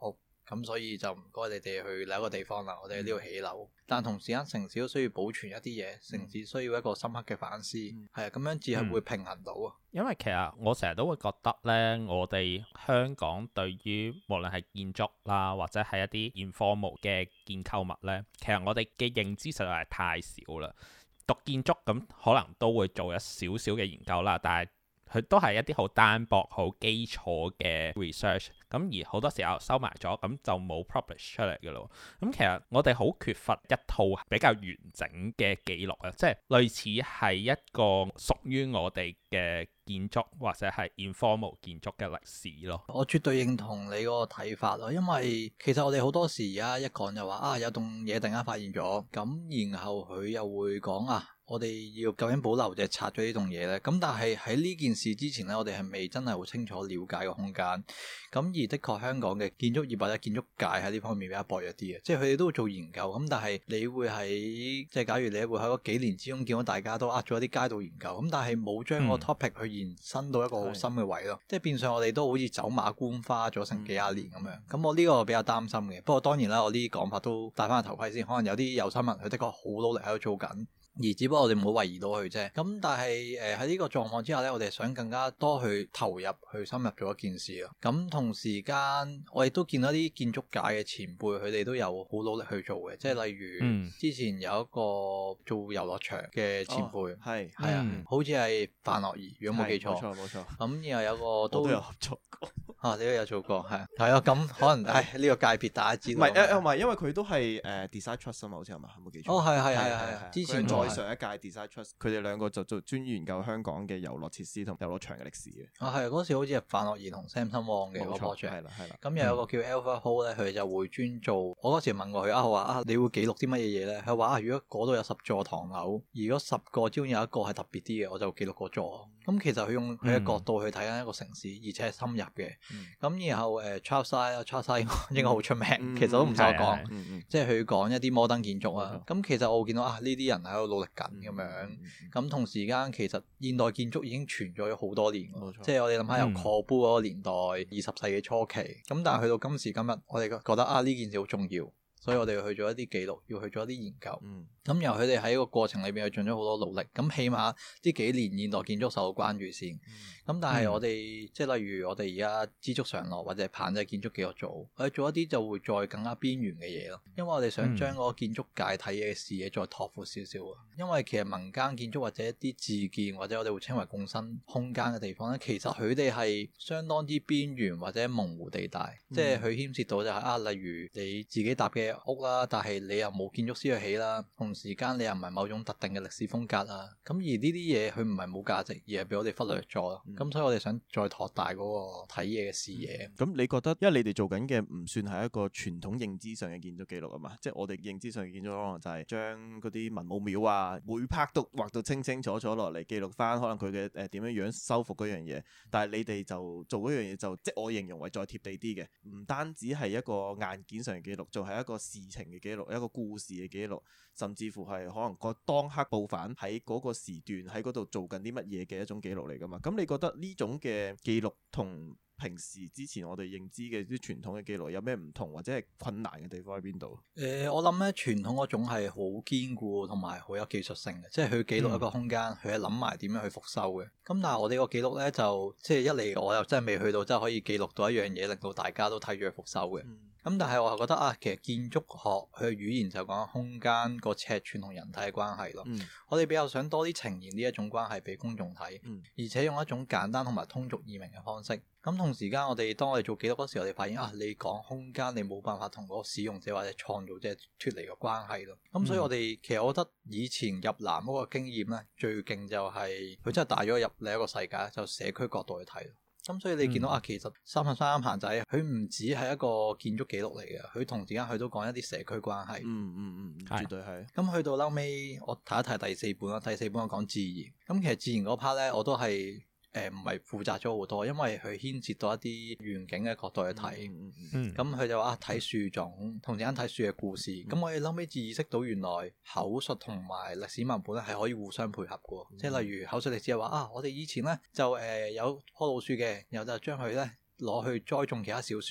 咁所以就唔該你哋去另一個地方啦，我哋喺呢度起樓。但同時間城市都需要保存一啲嘢，城市需要一個深刻嘅反思，係啊、嗯，咁樣至係會平衡到啊、嗯。 因為其實我成日都會覺得呢，我哋香港對於無論係建築啦，或者係一啲 informal 嘅建構物呢，其實我哋嘅認知實在係太少啦。讀建築咁可能都會做一少少嘅研究啦，但係佢都係一啲好單薄、好基礎嘅 research，咁而好多時候收埋咗，咁就冇 publish 出嚟嘅咯。咁其實我哋好缺乏一套比較完整嘅記錄啊，即係類似係一個屬於我哋嘅建築或者係 informal 建築嘅歷史咯。 我絕對認同你嗰個睇法咯，因為其實我哋好多時而家一講就話啊，有棟嘢突然間發現咗，咁然後佢又會講啊，我哋要究竟保留定係拆咗呢棟嘢呢？咁但係喺呢件事之前呢，我哋係未真係好清楚了解個空間。咁而的確香港嘅建築業或者建築界喺呢方面比較薄弱啲嘅，即係佢哋都會做研究。咁但係你會喺即係假如你會喺嗰幾年之中見到大家都呃咗一啲街道研究，咁但係冇將個 topic 去延伸到一個好深嘅位咯。嗯、即係變相我哋都好似走馬觀花咗成幾廿年咁樣。咁、嗯、我呢個比較擔心嘅。不過當然啦，我呢啲講法都戴翻個頭盔先。可能有啲有心人佢的確好努力喺度做緊。而只不過我哋唔好懷疑到佢啫。咁但係誒喺呢個狀況之下呢，我哋想更加多去投入去深入做一件事咯。咁同時間我亦都見到啲建築界嘅前輩，佢哋都有好努力去做嘅。即係例如、嗯、之前有一個做遊樂場嘅前輩，係係啊，嗯、好似係范樂儀，如果冇記錯。冇錯冇錯。咁然後有個都，都有合作過。啊！你都有做過，係係啊，咁可能唉呢個界別大家知道。唔係誒，唔係，因為佢都係誒 Design Trust 啊嘛，好似係嘛，冇記錯。哦，係係係係。之前再上一屆 Design Trust，佢哋兩個就做專研究香港嘅遊樂設施同遊樂場嘅歷史嘅。啊係，嗰時好似係范樂儀同 Samson Wong 嘅嗰個 project。係啦係啦。咁又有個叫 Alpha Hall 咧，佢就會專做。我嗰時問過佢啊，我話啊，你會記錄啲乜嘢嘢咧？佢話啊，如果嗰度有十座唐樓，如果十個之中有一個係特別啲嘅，我就記錄嗰座。咁其實佢用佢嘅角度去睇緊一個城市，而且係深入嘅。咁、嗯、然後誒 Charles 應該好出名，嗯、其實都唔使我講，嗯嗯、即係佢講一啲摩登建築啊。咁、嗯、其實我見到啊，呢啲人喺度努力緊咁樣。咁、嗯嗯、同時間其實現代建築已經存在咗好多年，冇錯，即係我哋諗下由 Corbu 嗰個年代，二十世紀初期。咁但係去到今時今日，我哋覺得啊呢件事好重要。所以我哋要去做一啲記錄，要去做一啲研究。咁、嗯、由佢哋喺個過程裏邊去盡咗好多努力。咁起碼呢幾年現代建築受到關注先。咁、嗯、但係我哋、嗯、即係例如我哋而家知足常樂或者棒仔建築記錄組，我哋做一啲就會再更加邊緣嘅嘢咯。因為我哋想將嗰個建築界睇嘢嘅視野再拓闊少少啊。因為其實民間建築或者一啲自建或者我哋會稱為共生空間嘅地方咧，其實佢哋係相當之邊緣或者模糊地帶。嗯、即係佢牽涉到就係、是、啊，例如你自己搭嘅屋啦，但係你又冇建築師去起啦，同時間你又唔係某種特定嘅歷史風格啦，咁而呢啲嘢佢唔係冇價值，而係俾我哋忽略咗咯。咁、嗯、所以我哋想再拓大嗰個睇嘢嘅視野。咁、嗯、你覺得，因為你哋做緊嘅唔算係一個傳統認知上嘅建築記錄啊嘛，即係我哋認知上嘅建築可能就係將嗰啲文武廟啊，每 part 都畫到清清楚楚落嚟，記錄翻可能佢嘅誒點樣樣修復嗰樣嘢。但係你哋就做嗰樣嘢就即係我形容為再貼地啲嘅，唔單止係一個硬件上嘅記錄，仲係一個事情嘅記錄，一個故事嘅記錄，甚至乎係可能個當刻報販喺嗰個時段喺嗰度做緊啲乜嘢嘅一種記錄嚟㗎嘛。咁你覺得呢種嘅記錄同平時之前我哋認知嘅啲傳統嘅記錄有咩唔同，或者係困難嘅地方喺邊度？誒、呃，我諗咧傳統嗰種係好堅固同埋好有技術性嘅，即係佢記錄一個空間，佢係諗埋點樣去復修嘅。咁但係我哋個記錄咧就即係一嚟我又真係未去到真係可以記錄到一樣嘢，令到大家都睇住佢復修嘅。嗯咁但係我係覺得啊，其實建築學佢嘅語言就講空間個尺寸同人體嘅關係咯。嗯、我哋比較想多啲呈現呢一種關係俾公眾睇，嗯、而且用一種簡單同埋通俗易明嘅方式。咁同時間我哋當我哋做記錄嗰時候，我哋發現啊，你講空間你冇辦法同嗰個使用者或者創造者脫離個關係咯。咁、嗯、所以我哋其實我覺得以前入南嗰個經驗咧，最勁就係佢真係帶咗入另一個世界，就社區角度去睇。咁所以你見到啊，其實三十三棚仔佢唔止係一個建築記錄嚟嘅，佢同時間佢都講一啲社區關係。嗯嗯嗯，絕對係。咁去到後尾，我睇一睇第四本啦。第四本我講自然。咁其實自然嗰 part 咧，我都係。誒唔係負責咗好多，因為佢牽涉到一啲遠景嘅角度去睇，咁佢、嗯、就話睇樹種，同時間睇樹嘅故事。咁、嗯、我哋後尾至意識到原來口述同埋歷史文本咧係可以互相配合嘅，嗯、即係例如口述歷史係話啊，我哋以前咧就誒、呃、有棵老樹嘅，然後就將佢咧攞去栽種其他小樹。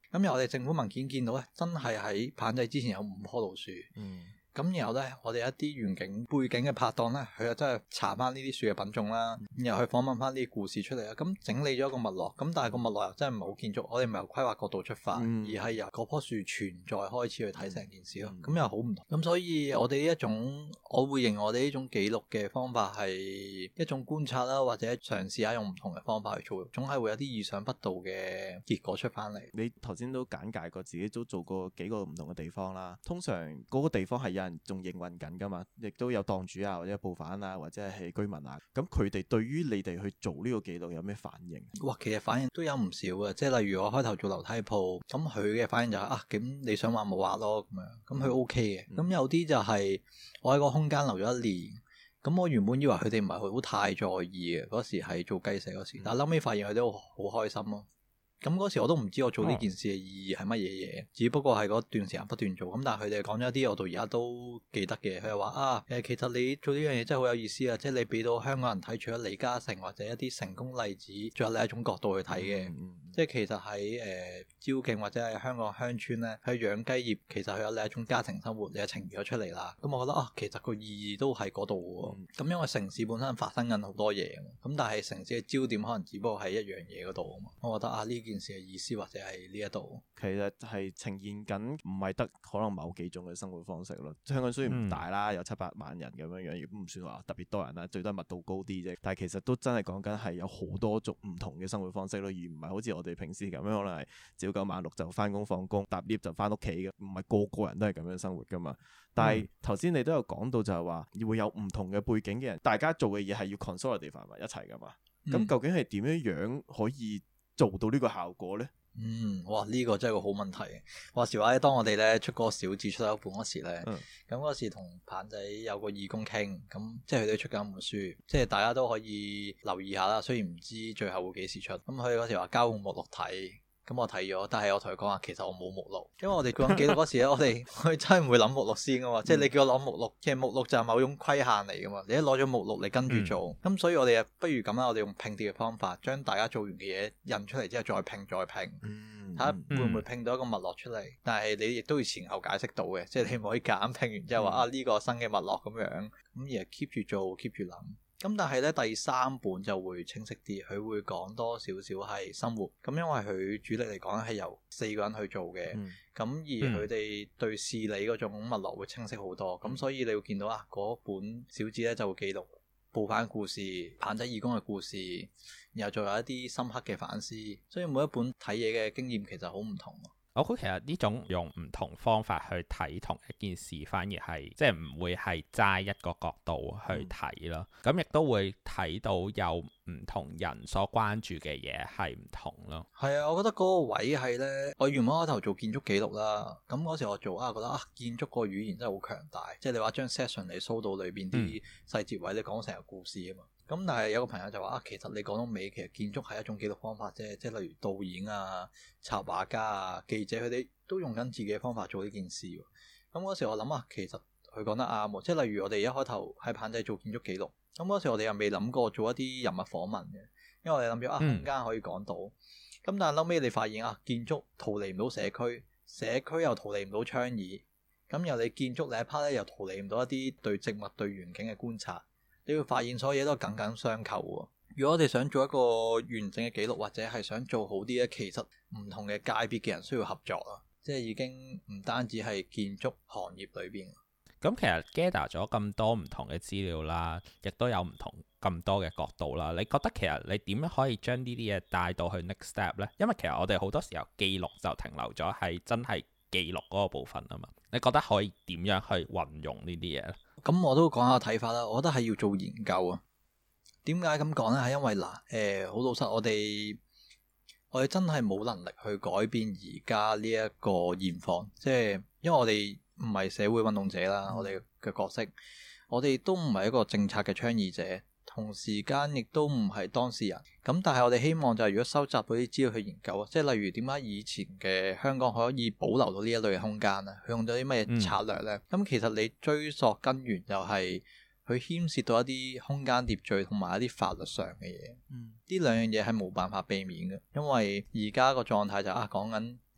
咁由我哋政府文件見到咧，真係喺棚仔之前有五棵老樹。嗯。咁然後咧，我哋一啲遠景背景嘅拍檔咧，佢又真係查翻呢啲樹嘅品種啦，然後去訪問翻啲故事出嚟啦。咁整理咗一個脈絡，咁但係個脈絡又真係唔係好建築，我哋唔係由規劃角度出發，嗯、而係由嗰棵樹存在開始去睇成件事咯。咁、嗯、又好唔同。咁所以我哋呢一種，我會認為我哋呢種記錄嘅方法係一種觀察啦，或者嘗試下用唔同嘅方法去做，總係會有啲意想不到嘅結果出翻嚟。 你頭先都簡介過自己都做過幾個唔同嘅地方啦，通常嗰個地方係有人仲營運緊噶嘛，亦都有檔主啊，或者報販啊，或者係居民啊。咁佢哋對於你哋去做呢個記錄有咩反應？ 哇，其實反應都有唔少嘅，即係例如我開頭做樓梯鋪，咁佢嘅反應就係、是、啊，咁你想畫冇畫咯咁樣，咁佢 O K 嘅。咁、嗯、有啲就係我喺個空間留咗一年，咁我原本以為佢哋唔係好太在意嘅，嗰時係做雞舍嗰時，嗯、但係後尾發現佢都好開心咯。咁嗰時我都唔知我做呢件事嘅意義係乜嘢嘢，哦、只不過係嗰段時間不斷做。咁但係佢哋講咗一啲我到而家都記得嘅。佢又話啊，誒其實你做呢樣嘢真係好有意思啊！即係你俾到香港人睇，除咗李嘉誠或者一啲成功例子，仲有另一種角度去睇嘅。嗯嗯、即係其實喺誒、呃、昭敬或者係香港鄉村咧，去養雞業其實佢有另一種家庭生活，你係呈現咗出嚟啦。咁我覺得啊，其實個意義都喺嗰度喎。咁、嗯、因為城市本身發生緊好多嘢，咁但係城市嘅焦點可能只不過喺一樣嘢嗰度啊嘛。我覺得啊，呢件事嘅意思或者係呢一度， 其實係呈現緊唔係得可能某幾種嘅生活方式咯。香港雖然唔大啦，嗯、有七百萬人咁樣樣，亦都唔算話特別多人啦，最多密度高啲啫。但係其實都真係講緊係有好多種唔同嘅生活方式咯，而唔係好似我哋平時咁樣，可能係朝九晚六就翻工放工，搭 lift 就翻屋企嘅，唔係個個人都係咁樣生活噶嘛。但係頭先你都有講到就係話會有唔同嘅背景嘅人，大家做嘅嘢係要 consolidate 埋一齊噶嘛。咁、嗯、究竟係點樣樣可以做到呢個效果咧？ 嗯，哇！呢、這個真係個好問題。話時話咧，當我哋咧出嗰個小字出一本嗰時咧，咁嗰、嗯、時同鵬仔有個義工傾，咁即係佢哋出緊一本書，即係大家都可以留意下啦。雖然唔知最後會幾時出，咁佢嗰時話交換目錄睇。咁我睇咗，但係我同佢講話，其實我冇目錄，因為我哋講記錄嗰時咧，我哋我哋真係唔會諗目錄先噶嘛，即係你叫我攞目錄，其實目錄就係某種規限嚟噶嘛，你一攞咗目錄，你跟住做，咁、嗯、所以我哋啊，不如咁啦，我哋用拼貼嘅方法，將大家做完嘅嘢印出嚟之後再拼再拼，睇下、嗯、會唔會拼到一個脈絡出嚟，但係你亦都要前後解釋到嘅，即係你唔可以夾硬拼完之後話、嗯、啊呢、這個新嘅脈絡咁樣，咁而係 keep 住做 keep 住諗。咁但係咧第三本就會清晰啲，佢會講多少少係生活。咁因為佢主力嚟講係由四個人去做嘅，咁、嗯、而佢哋對事理嗰種脈絡會清晰好多。咁、嗯、所以你會見到啊，嗰本小誌咧就會記錄報販故事、鵬仔義工嘅故事，然後仲有一啲深刻嘅反思。所以每一本睇嘢嘅經驗其實好唔同。 我估其實呢種用唔同方法去睇同一件事，反而係即係唔會係齋一個角度去睇咯。咁亦、嗯、都會睇到有唔同人所關注嘅嘢係唔同咯。 係啊，我覺得嗰個位係呢，我原本開頭做建築記錄啦，咁嗰時我做啊，覺得啊建築個語言真係好強大，即係你話將 session 你搜到裏邊啲細節位，你講成個故事啊嘛。咁但係有個朋友就話啊，其實你講到尾，其實建築係一種記錄方法啫，即係例如導演啊、插畫家啊、記者，佢哋都用緊自己嘅方法做呢件事。咁嗰時我諗啊，其實佢講得啱喎，即係例如我哋一開頭喺鵬仔做建築記錄，咁嗰時我哋又未諗過做一啲人物訪問嘅，因為我哋諗住啊空間可以講到，咁、嗯、但係後尾你發現啊，建築逃離唔到社區，社區又逃離唔到倡議，咁由你建築另一 part 咧又逃離唔到一啲對植物對環境嘅觀察。你會發現所有嘢都係緊緊相扣喎。如果我哋想做一個完整嘅記錄，或者係想做好啲咧，其實唔同嘅界別嘅人需要合作啊。即係已經唔單止係建築行業裏邊。 咁其實 gather 咗咁多唔同嘅資料啦，亦都有唔同咁多嘅角度啦。你覺得其實你點樣可以將呢啲嘢帶到去 next step 呢？因為其實我哋好多時候記錄就停留咗係真係記錄嗰個部分啊嘛。你覺得可以點樣去運用呢啲嘢咧？ 咁我都講下睇法啦。我覺得係要做研究啊。點解咁講呢？係因為嗱，誒、呃，好老實，我哋我哋真係冇能力去改變而家呢一個現況。即係因為我哋唔係社會運動者啦，我哋嘅角色，我哋都唔係一個政策嘅倡議者，同時間亦都唔係當事人。咁但係我哋希望就係如果收集到啲資料去研究啊，即係例如點解以前嘅香港可以保留到呢一類嘅空間啊？佢用咗啲乜嘢策略呢？咁、嗯、其實你追溯根源就係佢牽涉到一啲空間秩序同埋一啲法律上嘅嘢。嗯，呢兩樣嘢係冇辦法避免嘅，因為而家個狀態就係、啊講緊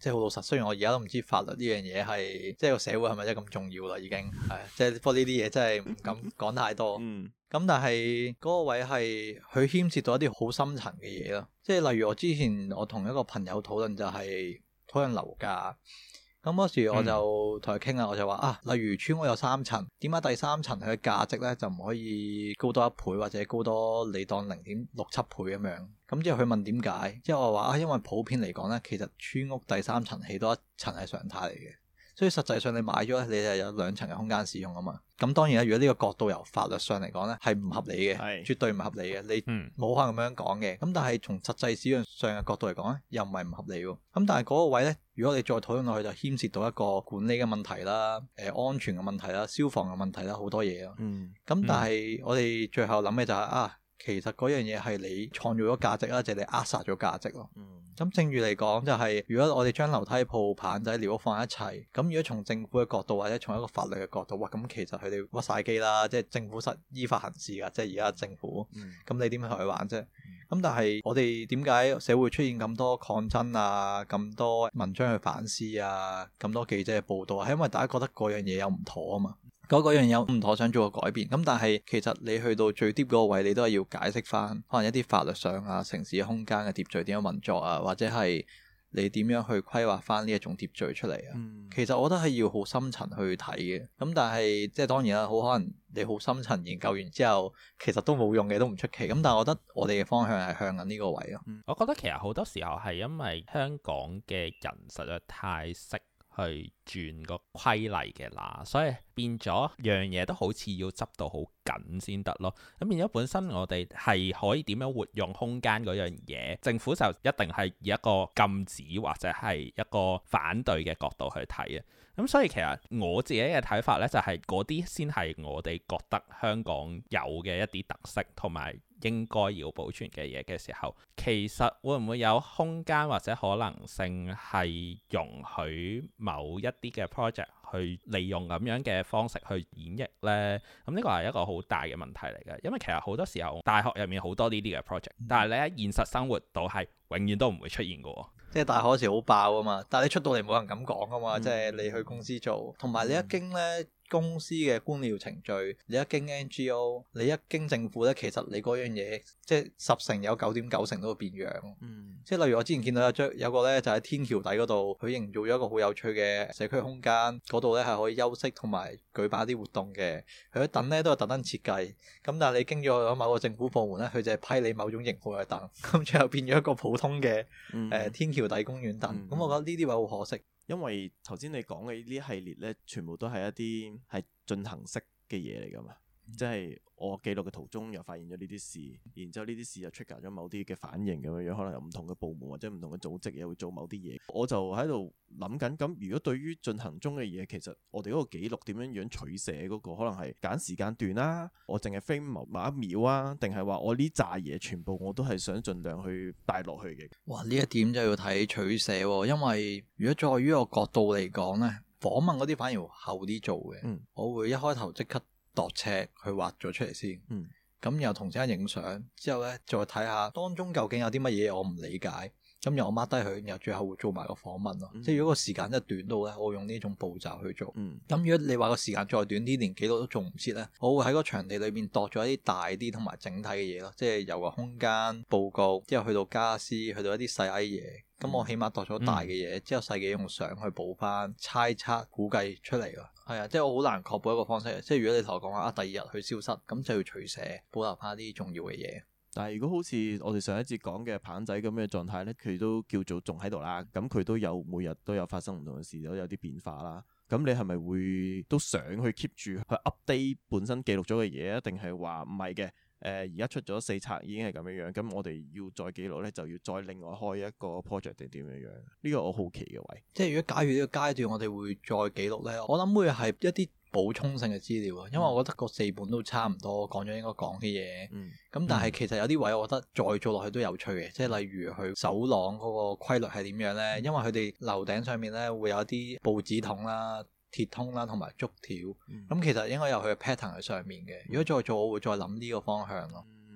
即係好老實，雖然我而家都唔知法律呢樣嘢係即係個社會係咪真係咁重要啦，已經係即係不過呢啲嘢真係唔敢講太多。嗯，咁但係嗰個位係佢牽涉到一啲好深層嘅嘢咯，即係例如我之前我同一個朋友討論就係討論樓價。咁嗰時我就同佢傾啦，我就話啊，例如村屋有三層，點解第三層佢嘅價值咧就唔可以高多一倍或者高多你當零點六七倍咁樣？咁之後佢問點解？之後我話啊，因為普遍嚟講咧，其實村屋第三層起多一層係常態嚟嘅。所以實際上你買咗你係有兩層嘅空間使用啊嘛。咁當然啦，如果呢個角度由法律上嚟講咧，係唔合理嘅，是絕對唔合理嘅。你冇可能咁樣講嘅。咁、嗯、但係從實際使用上嘅角度嚟講咧，又唔係唔合理喎。咁但係嗰個位咧，如果你再討論落去，就牽涉到一個管理嘅問題啦、誒、呃、安全嘅問題啦、消防嘅問題啦，好多嘢咯。咁、嗯、但係我哋最後諗嘅就係、是、啊。其實嗰樣嘢係你創造咗價值啦，就係你扼殺咗價值咯。咁、嗯、正如嚟講，就係、是、如果我哋將樓梯鋪、棚仔、寮屋放一齊，咁如果從政府嘅角度或者從一個法律嘅角度，哇，咁其實佢哋屈晒機啦，即係政府實依法行事㗎，即係而家政府。咁、嗯、你點樣同佢玩啫？咁、嗯、但係我哋點解社會出現咁多抗爭啊、咁多文章去反思啊、咁多記者嘅報導啊？係因為大家覺得嗰樣嘢有唔妥啊嘛。嗰嗰樣有唔妥，想做個改變，咁但係其實你去到最 deep 嗰個位，你都係要解釋翻，可能一啲法律上啊、城市空間嘅秩序點樣運作啊，或者係你點樣去規劃翻呢一種秩序出嚟啊。嗯、其實我覺得係要好深層去睇嘅，咁但係即係當然啦，好可能你好深層研究完之後，其實都冇用嘅，都唔出奇。咁但係我覺得我哋嘅方向係向緊呢個位咯。 嗯、我覺得其實好多時候係因為香港嘅人實在太識去轉個規例嘅啦，所以變咗樣嘢都好似要執到好緊先得咯。咁變咗本身我哋係可以點樣活用空間嗰樣嘢，政府就一定係以一個禁止或者係一個反對嘅角度去睇啊。咁所以其實我自己嘅睇法呢，就係嗰啲先係我哋覺得香港有嘅一啲特色同埋應該要保存嘅嘢嘅時候，其實會唔會有空間或者可能性係容許某一啲嘅 project 去利用咁樣嘅方式去演繹呢？咁呢個係一個好大嘅問題嚟嘅，因為其實好多時候大學入面好多呢啲嘅 project，但係你喺現實生活度係永遠都唔會出現嘅。 即係大學嗰時好爆啊嘛，但係你出到嚟冇人咁講啊嘛，嗯、即係你去公司做，同埋你一經咧。公司嘅官僚程序，你一經 N G O， 你一經政府咧，其實你嗰樣嘢即係十成有九點九成都會變樣。嗯，即係例如我之前見到有張有個咧就喺天橋底嗰度，佢營造咗一個好有趣嘅社區空間，嗰度咧係可以休息同埋舉辦一啲活動嘅。佢啲凳咧都係特登設計，咁但係你經咗某個政府部門咧，佢就係批你某種型號嘅凳，咁最後變咗一個普通嘅誒、嗯呃、天橋底公園凳。咁、嗯、我覺得呢啲位好可惜。 因為頭先你講嘅呢啲系列咧，全部都係一啲係進行式嘅嘢嚟㗎嘛，嗯、即係我記錄嘅途中又發現咗呢啲事，然之後呢啲事又 trigger 咗某啲嘅反應咁樣樣，可能有唔同嘅部門或者唔同嘅組織又會做某啲嘢，我就喺度諗緊，咁如果對於進行中嘅嘢，其實我哋嗰個記錄點樣樣取捨嗰個，可能係揀時間段啦，我淨係 frame 某一秒啊，定係話我呢扎嘢全部我都係想盡量去帶落去嘅。 哇！呢一點就要睇取捨喎，因為如果在於個角度嚟講呢，訪問嗰啲反而後啲做嘅，嗯、我會一開頭即刻度尺去畫咗出嚟先，咁、嗯、然後同時間影相，之後咧再睇下當中究竟有啲乜嘢我唔理解，咁然後我 mark 低佢，然後最後會做埋個訪問咯。嗯、即係如果個時間真係短到咧，我會用呢種步驟去做。咁、嗯、如果你話個時間再短啲，連記錄都做唔切咧，我會喺個場地裏面度咗一啲大啲同埋整體嘅嘢咯，即係由個空間佈局，之後去到家私，去到一啲細矮嘢。咁我起碼度咗大嘅嘢，嗯、之後細嘅用相去補翻，猜測估計出嚟咯。係啊，即係我好難確保一個方式。即係如果你同我講話啊，第二日去消失，咁就要取捨，保留翻啲重要嘅嘢。 但係如果好似我哋上一節講嘅棚仔咁嘅狀態呢，佢都叫做仲喺度啦。咁佢都有每日都有發生唔同嘅事，都有啲變化啦。咁你係咪會都想去 keep 住去 update 本身記錄咗嘅嘢啊？定係話唔係嘅？誒而家出咗四冊已經係咁樣樣，咁我哋要再記錄呢，就要再另外開一個 project 定點樣樣？呢個我好奇嘅位。 即係如果假如呢個階段我哋會再記錄呢，我諗會係一啲補充性嘅資料啊，因為我覺得個四本都差唔多講咗應該講嘅嘢。嗯。咁但係其實有啲位我覺得再做落去都有趣嘅，即係例如佢走廊嗰個規律係點樣呢？因為佢哋樓頂上面呢會有啲報紙筒啦、鐵通啦同埋竹條，咁、嗯、其實應該有佢嘅 pattern 喺上面嘅。如果再做，我會再諗呢個方向咯。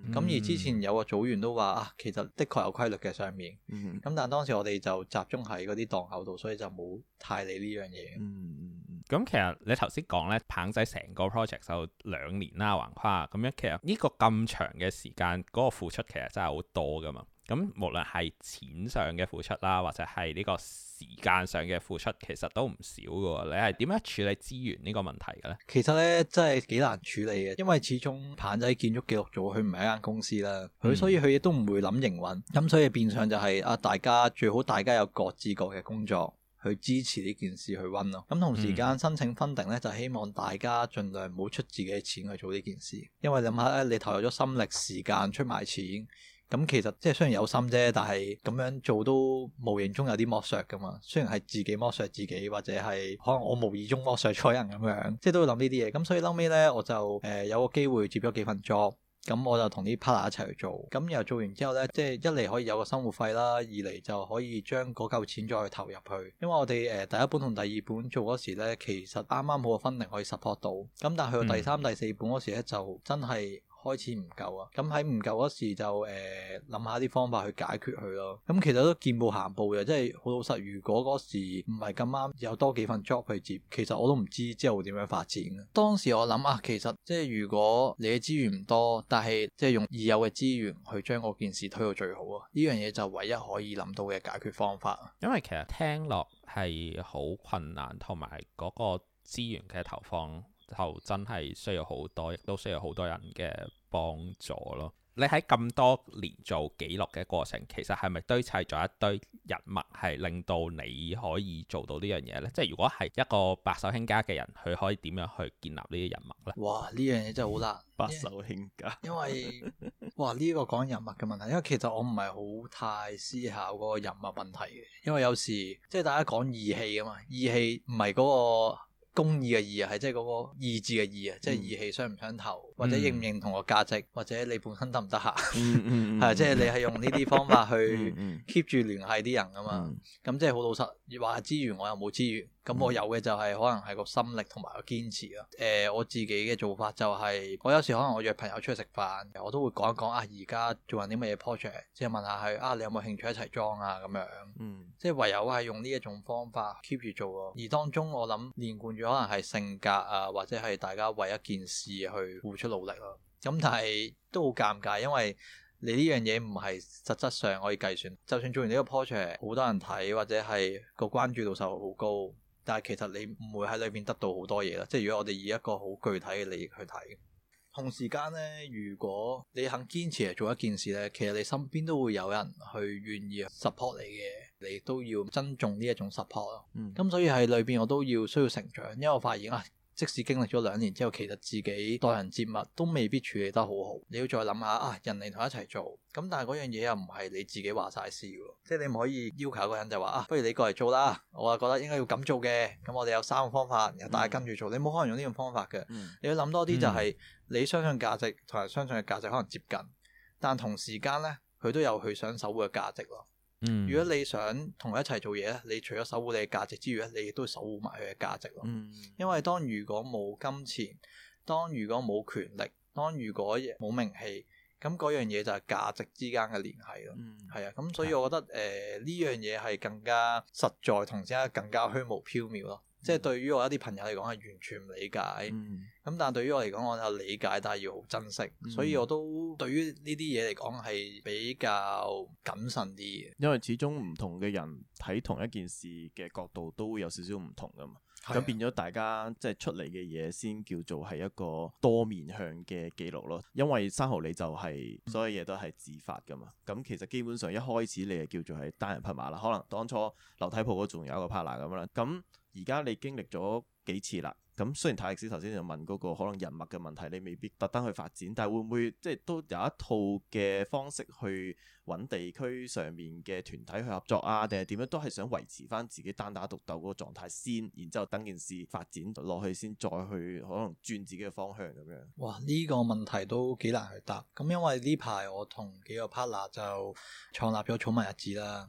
咁、嗯、而之前有個組員都話啊，其實的確有規律嘅上面。咁、嗯、但係當時我哋就集中喺嗰啲檔口度，所以就冇太理呢樣嘢。 嗯咁其實你頭先講咧，棒仔成個 project 就兩年啦，橫跨咁樣，其實呢個咁長嘅時間，嗰、嗰個付出其實真係好多噶嘛。咁無論係錢上嘅付出啦，或者係呢個時間上嘅付出，其實都唔少噶。你係點樣處理資源呢個問題嘅咧？ 其實咧真係幾難處理嘅，因為始終棒仔建築記錄組佢唔係一間公司啦，佢、嗯、所以佢亦都唔會諗營運，咁所以變相就係、是、啊，大家最好大家有各自各嘅工作。去支持呢件事去溫咯，咁同時間申請 funding 咧，就希望大家盡量唔好出自己嘅錢去做呢件事，因為諗下咧，你投入咗心力、時間出埋錢，咁其實即係雖然有心啫，但係咁樣做都無形中有啲剝削噶嘛。雖然係自己剝削自己，或者係可能我無意中剝削錯人咁樣，即係都會諗呢啲嘢。咁所以後尾咧，我就誒、呃、有個機會接咗幾份 job。咁我就同啲 partner 一齊去做，咁然後做完之後呢，即係一嚟可以有個生活費啦，二嚟就可以將嗰嚿錢再去投入去。因為我哋誒第一本同第二本做嗰時呢，其實啱啱好個分齡可以 support 到，咁但係去到第三、嗯、第四本嗰時呢，就真係開始唔夠啊！咁喺唔夠嗰時就誒諗下啲方法去解決佢咯。咁其實都見步行步嘅，即係好老實。如果嗰時唔係咁啱有多幾份 job 去接，其實我都唔知之後會點樣發展。當時我諗啊，其實即係如果你嘅資源唔多，但係即係用已有嘅資源去將嗰件事推到最好啊！呢樣嘢就唯一可以諗到嘅解決方法。 因為其實聽落係好困難，同埋嗰個資源嘅投放就真係需要好多，亦都需要好多人嘅幫助咯。你喺咁多年做記錄嘅過程，其實係咪堆砌咗一堆人脈，係令到你可以做到呢樣嘢呢？即係如果係一個白手興家嘅人，佢可以點樣去建立呢啲人脈呢？ 哇！呢樣嘢真係好難。 白手興家， 因為哇呢、呢個講人脈嘅問題，因為其實我唔係好太思考嗰個人脈問題嘅，因為有時即係大家講義氣啊嘛，義氣唔係嗰個公義嘅義啊，係即係嗰個意志嘅義啊，即係義氣相唔相投，嗯、或者認唔認同個價值，或者你本身得唔得閒，係啊，即係你係用呢啲方法去 keep 住聯繫啲人啊嘛，咁、嗯、即係好老實，話資源我又冇資源。咁我有嘅就係可能係個心力同埋個堅持咯。誒、呃，我自己嘅做法就係、是，我有時可能我約朋友出去食飯，我都會講一講啊，而家做緊啲乜嘢 project，即係問下佢啊，你有冇興趣一齊裝啊咁樣。嗯。即係唯有係用呢一種方法 keep 住做咯。而當中我諗連貫住可能係性格啊，或者係大家為一件事去付出努力咯。咁但係都好尷尬，因為你呢樣嘢唔係實質上可以計算。就算做完呢個 project，好多人睇或者係個關注度就好高。但係其實你唔會喺裏邊得到好多嘢啦，即係如果我哋以一個好具體嘅利益去睇，同時間呢，如果你肯堅持嚟做一件事呢，其實你身邊都會有人去願意 support 你嘅，你都要珍重呢一種 support 咯。咁、嗯、所以喺裏邊我都要需要成長，因為我發現啊，即使經歷咗兩年之後，其實自己待人接物都未必處理得好好。你要再諗下啊，人嚟同一齊做，咁但係嗰樣嘢又唔係你自己話晒事喎，即係你唔可以要求一個人就話啊，不如你過嚟做啦，我啊覺得應該要咁做嘅。咁我哋有三個方法，然後大家跟住做，嗯、你冇可能用呢種方法嘅。嗯、你要諗多啲就係、是嗯、你相信價值同埋相信嘅價值可能接近，但同時間呢，佢都有佢想守護嘅價值咯。嗯、如果你想同佢一齊做嘢咧，你除咗守護你嘅價值之餘咧，你亦都守護埋佢嘅價值咯。嗯、因為當如果冇金錢，當如果冇權力，當如果冇名氣，咁嗰樣嘢就係價值之間嘅聯繫咯。係、嗯、啊，咁所以我覺得誒呢、呃、樣嘢係更加實在，同時間更加虛無縹緲咯。即係對於我一啲朋友嚟講係完全唔理解，咁、嗯、但係對於我嚟講我有理解，但係要好珍惜，嗯、所以我都對於呢啲嘢嚟講係比較謹慎啲嘅。 因為始終唔同嘅人睇同一件事嘅角度都會有少少唔同噶嘛，咁的變咗大家即係出嚟嘅嘢先叫做係一個多面向嘅記錄咯。因為生蠔你就係所有嘢都係自發噶嘛，咁、嗯、其實基本上一開始你係叫做係單人匹馬啦，可能當初樓梯鋪嗰仲有一個 partner 咁啦，咁。而家你經歷咗幾次啦，咁雖然泰力斯頭先就問嗰個可能人脈嘅問題，你未必特登去發展，但係會唔會即係都有一套嘅方式去揾地區上面嘅團體去合作啊？定係點樣都係想維持翻自己單打獨鬥嗰個狀態先，然之後等件事發展落去先，再去可能轉自己嘅方向咁樣。 哇！呢個問題都幾難去答。咁因為呢排我同幾個 partner 就創立咗草民日誌啦。嗯。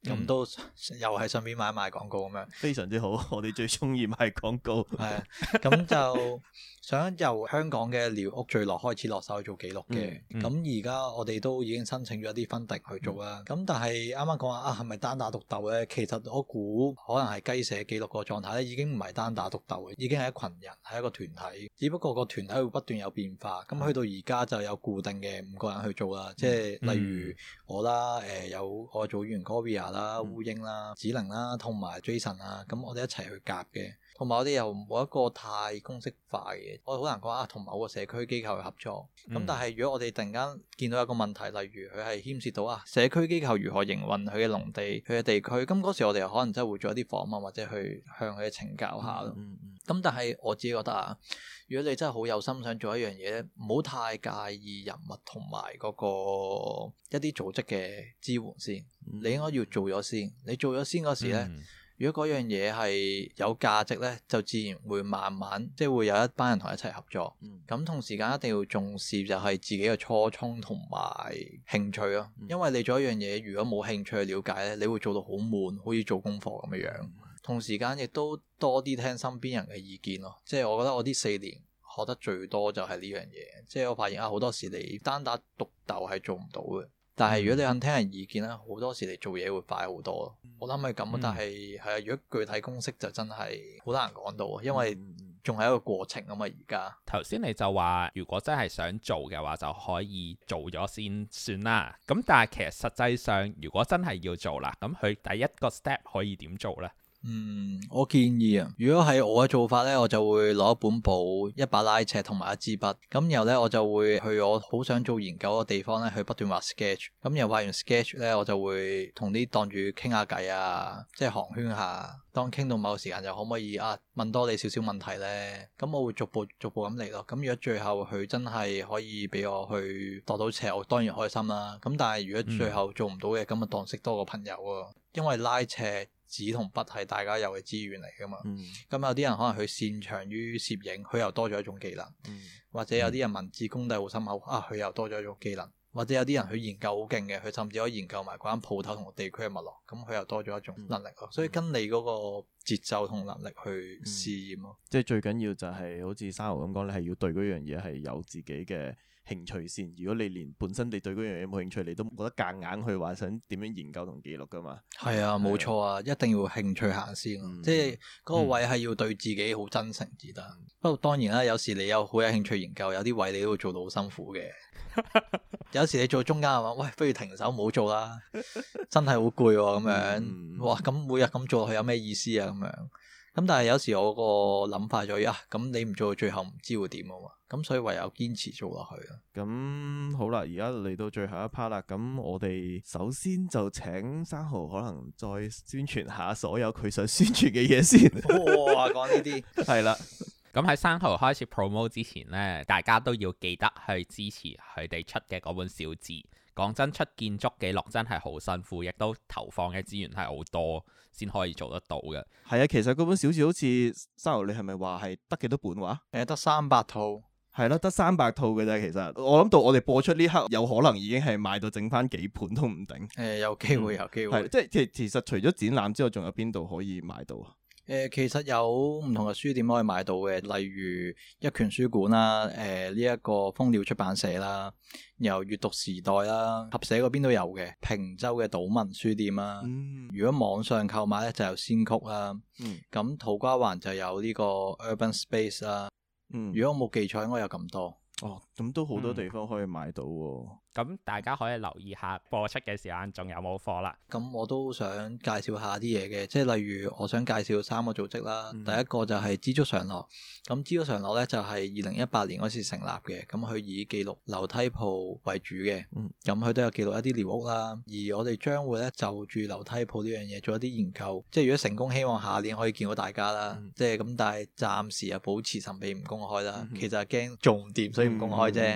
咁、嗯、都又係順便買賣廣告咁樣， 非常之好。我哋最中意賣廣告。係咁就想由香港嘅寮屋聚落開始落手去做記錄嘅。咁而家我哋都已經申請咗一啲分定去做啦。咁、嗯、但係啱啱講話啊，係咪單打獨鬥咧？其實我估可能係雞舍記錄個狀態咧，已經唔係單打獨鬥嘅，已經係一群人，係一個團體。只不過個團體會不斷有變化。咁去到而家就有固定嘅五個人去做啦。即係例如我啦，誒、呃、有我組員 Goria 啦、烏蠅啦、子玲啦，同埋 Jason 啦。咁我哋一齊去夾嘅。同埋我哋又冇一個太公式化嘅，我好難講啊。同某個社區機構去合作，咁、嗯、但係如果我哋突然間見到一個問題，例如佢係牽涉到啊社區機構如何營運佢嘅農地、佢嘅地區，咁嗰時我哋又可能真係會做一啲訪問或者去向佢哋請教下咯。咁、嗯嗯嗯、但係我自己覺得啊，如果你真係好有心想做一樣嘢咧，唔好太介意人物同埋嗰個一啲組織嘅支援先，嗯、你應該要做咗先。你做咗先嗰時咧。嗯如果嗰樣嘢係有價值呢，就自然會慢慢即係會有一班人同一齊合作。咁、嗯、同時間一定要重視就係自己嘅初衷同埋興趣咯。嗯、因為你做一樣嘢，如果冇興趣去了解呢，你會做到好悶，好似做功課咁嘅樣。嗯、同時間亦都多啲聽身邊人嘅意見咯。即係我覺得我呢四年學得最多就係呢樣嘢。即係我發現啊，好多時你單打獨鬥係做唔到嘅。但係如果你肯聽人意見咧，好多時你做嘢會快好多。嗯、我諗係咁，但係係啊，如果具體公式就真係好難講到，因為仲係一個過程啊嘛。而家頭先你就話，如果真係想做嘅話，就可以做咗先算啦。咁但係其實實際上，如果真係要做啦，咁佢第一個 step 可以點做呢？ 嗯，我建議啊，如果係我嘅做法咧，我就會攞一本簿、一把拉尺同埋一支筆，咁然後咧我就會去我好想做研究嘅地方咧，去不斷畫 sketch，咁然後畫完 sketch 咧，我就會同啲檔主傾下偈啊，即係寒暄下，當傾到某個時間就可唔可以啊問多你少少問題咧，咁我會逐步逐步咁嚟咯。咁如果最後佢真係可以俾我去度到尺，我當然開心啦。咁但係如果最後做唔到嘅，咁啊當識多個朋友啊，因為拉尺、紙同筆係大家有嘅資源嚟噶嘛，咁、嗯、有啲人可能佢擅長於攝影，佢又多咗一種技能，嗯、或者有啲人文字功底好深厚，啊佢又多咗一種技能，或者有啲人佢研究好勁嘅，佢甚至可以研究埋嗰間鋪頭同個地區嘅脈絡，咁佢又多咗一種能力咯。嗯、所以跟你嗰個節奏同能力去試驗咯。 即係最緊要就係好似生蠔咁講，你係要對嗰樣嘢係有自己嘅興趣先。如果你連本身你對嗰樣嘢冇興趣，你都覺得夾硬去話想點樣研究同記錄噶嘛？係啊，冇錯啊，一定要興趣行先。嗯、即係嗰個位係要對自己好真誠至得。嗯、不過當然啦，有時你有好有興趣研究，有啲位你都會做到好辛苦嘅。有時你做中間係嘛，喂，不如停手唔好做啦，真係好攰喎咁樣。嗯、哇，咁每日咁做落去有咩意思啊？咁樣。咁但係有時我個諗法就係啊，咁你唔做到最後唔知會點啊嘛，咁所以唯有堅持做落去咯。 咁好啦，而家嚟到最後一 part 啦，咁我哋首先就請生蠔可能再宣傳下所有佢想宣傳嘅嘢先。 哇，講呢啲係啦。 咁喺生蠔開始 promote 之前呢，大家都要記得去支持佢哋出嘅嗰本小誌。講真，出建築記錄真係好辛苦，亦都投放嘅資源係好多先可以做得到嘅。 係啊，其實嗰本小誌好似生蠔，你係咪話係得幾多本話？ 誒，得三百套。 係咯，得三百套嘅啫。其實我諗到我哋播出呢刻，有可能已經係賣到剩翻幾本都唔定。 誒，有機會，有機會。 係，即係其其實除咗展覽之外，仲有邊度可以買到啊？ 誒、呃，其實有唔同嘅書店可以買到嘅，例如一拳書館啦，誒呢一個蜂鳥出版社啦，由閱讀時代啦，合社嗰邊都有嘅，平洲嘅島文書店啦。嗯、如果網上購買咧，就有先曲啦。咁、嗯、土瓜灣就有呢個 Urban Space 啦。嗯、如果我冇記錯，應該有咁多。 哦，咁都好多地方可以買到喎。 咁、嗯、大家可以留意下播出嘅時間仲有冇貨啦。 咁我都想介紹下啲嘢嘅，即係例如我想介紹三個組織啦。嗯、第一個就係知足常樂。咁知足常樂咧就係二零一八年嗰時成立嘅，咁佢以記錄樓梯鋪為主嘅。咁佢、嗯、都有記錄一啲寮屋啦。而我哋將會咧就住樓梯鋪呢樣嘢做一啲研究。即係如果成功，希望下年可以見到大家啦。嗯、即係咁，但係暫時啊保持神秘唔公開啦。嗯、其實係驚做唔掂，所以唔公開啫。咁、嗯嗯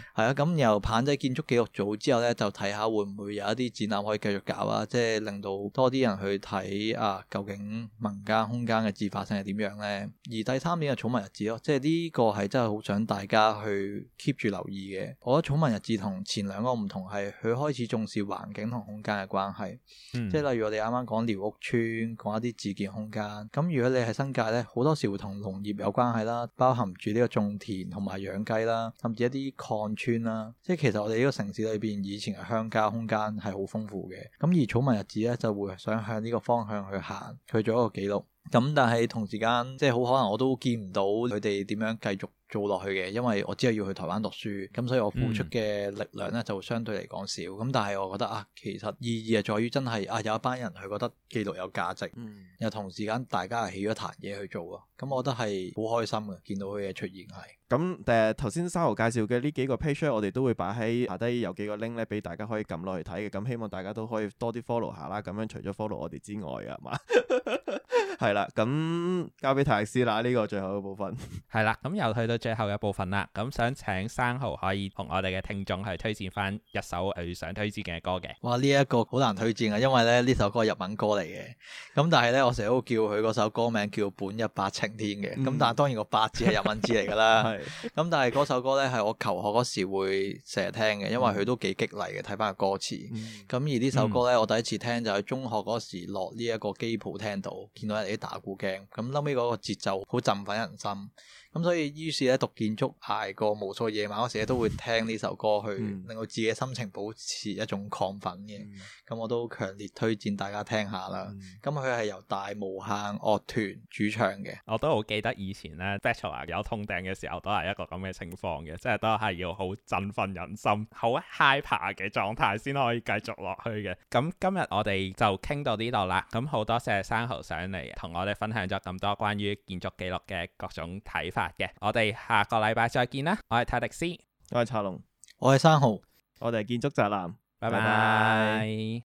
係啊，咁由棚仔建築記錄組之後咧，就睇下會唔會有一啲展覽可以繼續搞啊，即係令到多啲人去睇啊，究竟民間空間嘅自發性係點樣咧？而第三點係寵物日誌咯，即係呢個係真係好想大家去 keep 住留意嘅。我覺得寵物日誌同前兩個唔同係，佢開始重視環境同空間嘅關係，嗯、即係例如我哋啱啱講寮屋村，講一啲自建空間。咁如果你喺新界咧，好多時會同農業有關係啦，包含住呢個種田同埋養雞啦，甚至一啲礦村啦。即係其實我哋呢個城市裏邊以前嘅鄉郊空間係好豐富嘅。咁而寵物日誌咧就會想向呢個方向去行，去做一個記錄。咁但係同時間即係好可能我都見唔到佢哋點樣繼續做落去嘅，因為我只係要去台灣讀書，咁所以我付出嘅力量咧就相對嚟講少。咁、嗯、但係我覺得啊，其實意義係在於真係啊有一班人佢覺得記錄有價值，嗯、又同時間大家係起咗壇嘢去做咯。咁我覺得係好開心嘅，見到佢嘅出現係。 咁誒頭先生蠔介紹嘅呢幾個 page 我哋都會擺喺下低有幾個 link 咧，俾大家可以撳落去睇嘅。咁希望大家都可以多啲 follow 下啦。咁樣除咗 follow 我哋之外啊嘛，係啦。咁交俾泰克斯啦，呢、呢個最後嘅部分係啦。咁又去到最後嘅部分啦。咁想請生蠔可以同我哋嘅聽眾去推薦翻一首佢想推薦嘅歌嘅。 哇！呢、呢、一個好難推薦啊，因為咧呢首歌係日文歌嚟嘅。咁但係咧我成日都叫佢嗰首歌名叫本一八晴天嘅。咁、嗯、但係當然個八字係日文字嚟㗎啦。咁但係嗰首歌咧係我求學嗰時會成日聽嘅，因為佢都幾激勵嘅。睇翻個歌詞，咁、嗯、而呢首歌咧，我第一次聽就喺中學嗰時落呢一個機鋪聽到，見到人哋啲打鼓鏡，咁後尾嗰個節奏好振奮人心。咁所以於是咧讀建築捱過無數夜晚嗰時咧都會聽呢首歌去令到自己心情保持一種亢奮嘅。咁、嗯、我都強烈推薦大家聽下啦。咁佢係由大無限樂團主唱嘅。 我都好記得以前咧 Bachelor 有通頂嘅時候都係一個咁嘅情況嘅，即係都係要好振奮人心、好 hyper 嘅狀態先可以繼續落去嘅。咁今日我哋就傾到呢度啦。咁好多謝生蠔上嚟同我哋分享咗咁多關於建築記錄嘅各種睇法嘅。我哋下個禮拜再見啦。我係泰迪斯， 我係茶龍， 我係生蠔， 我哋係建築宅男， 拜拜。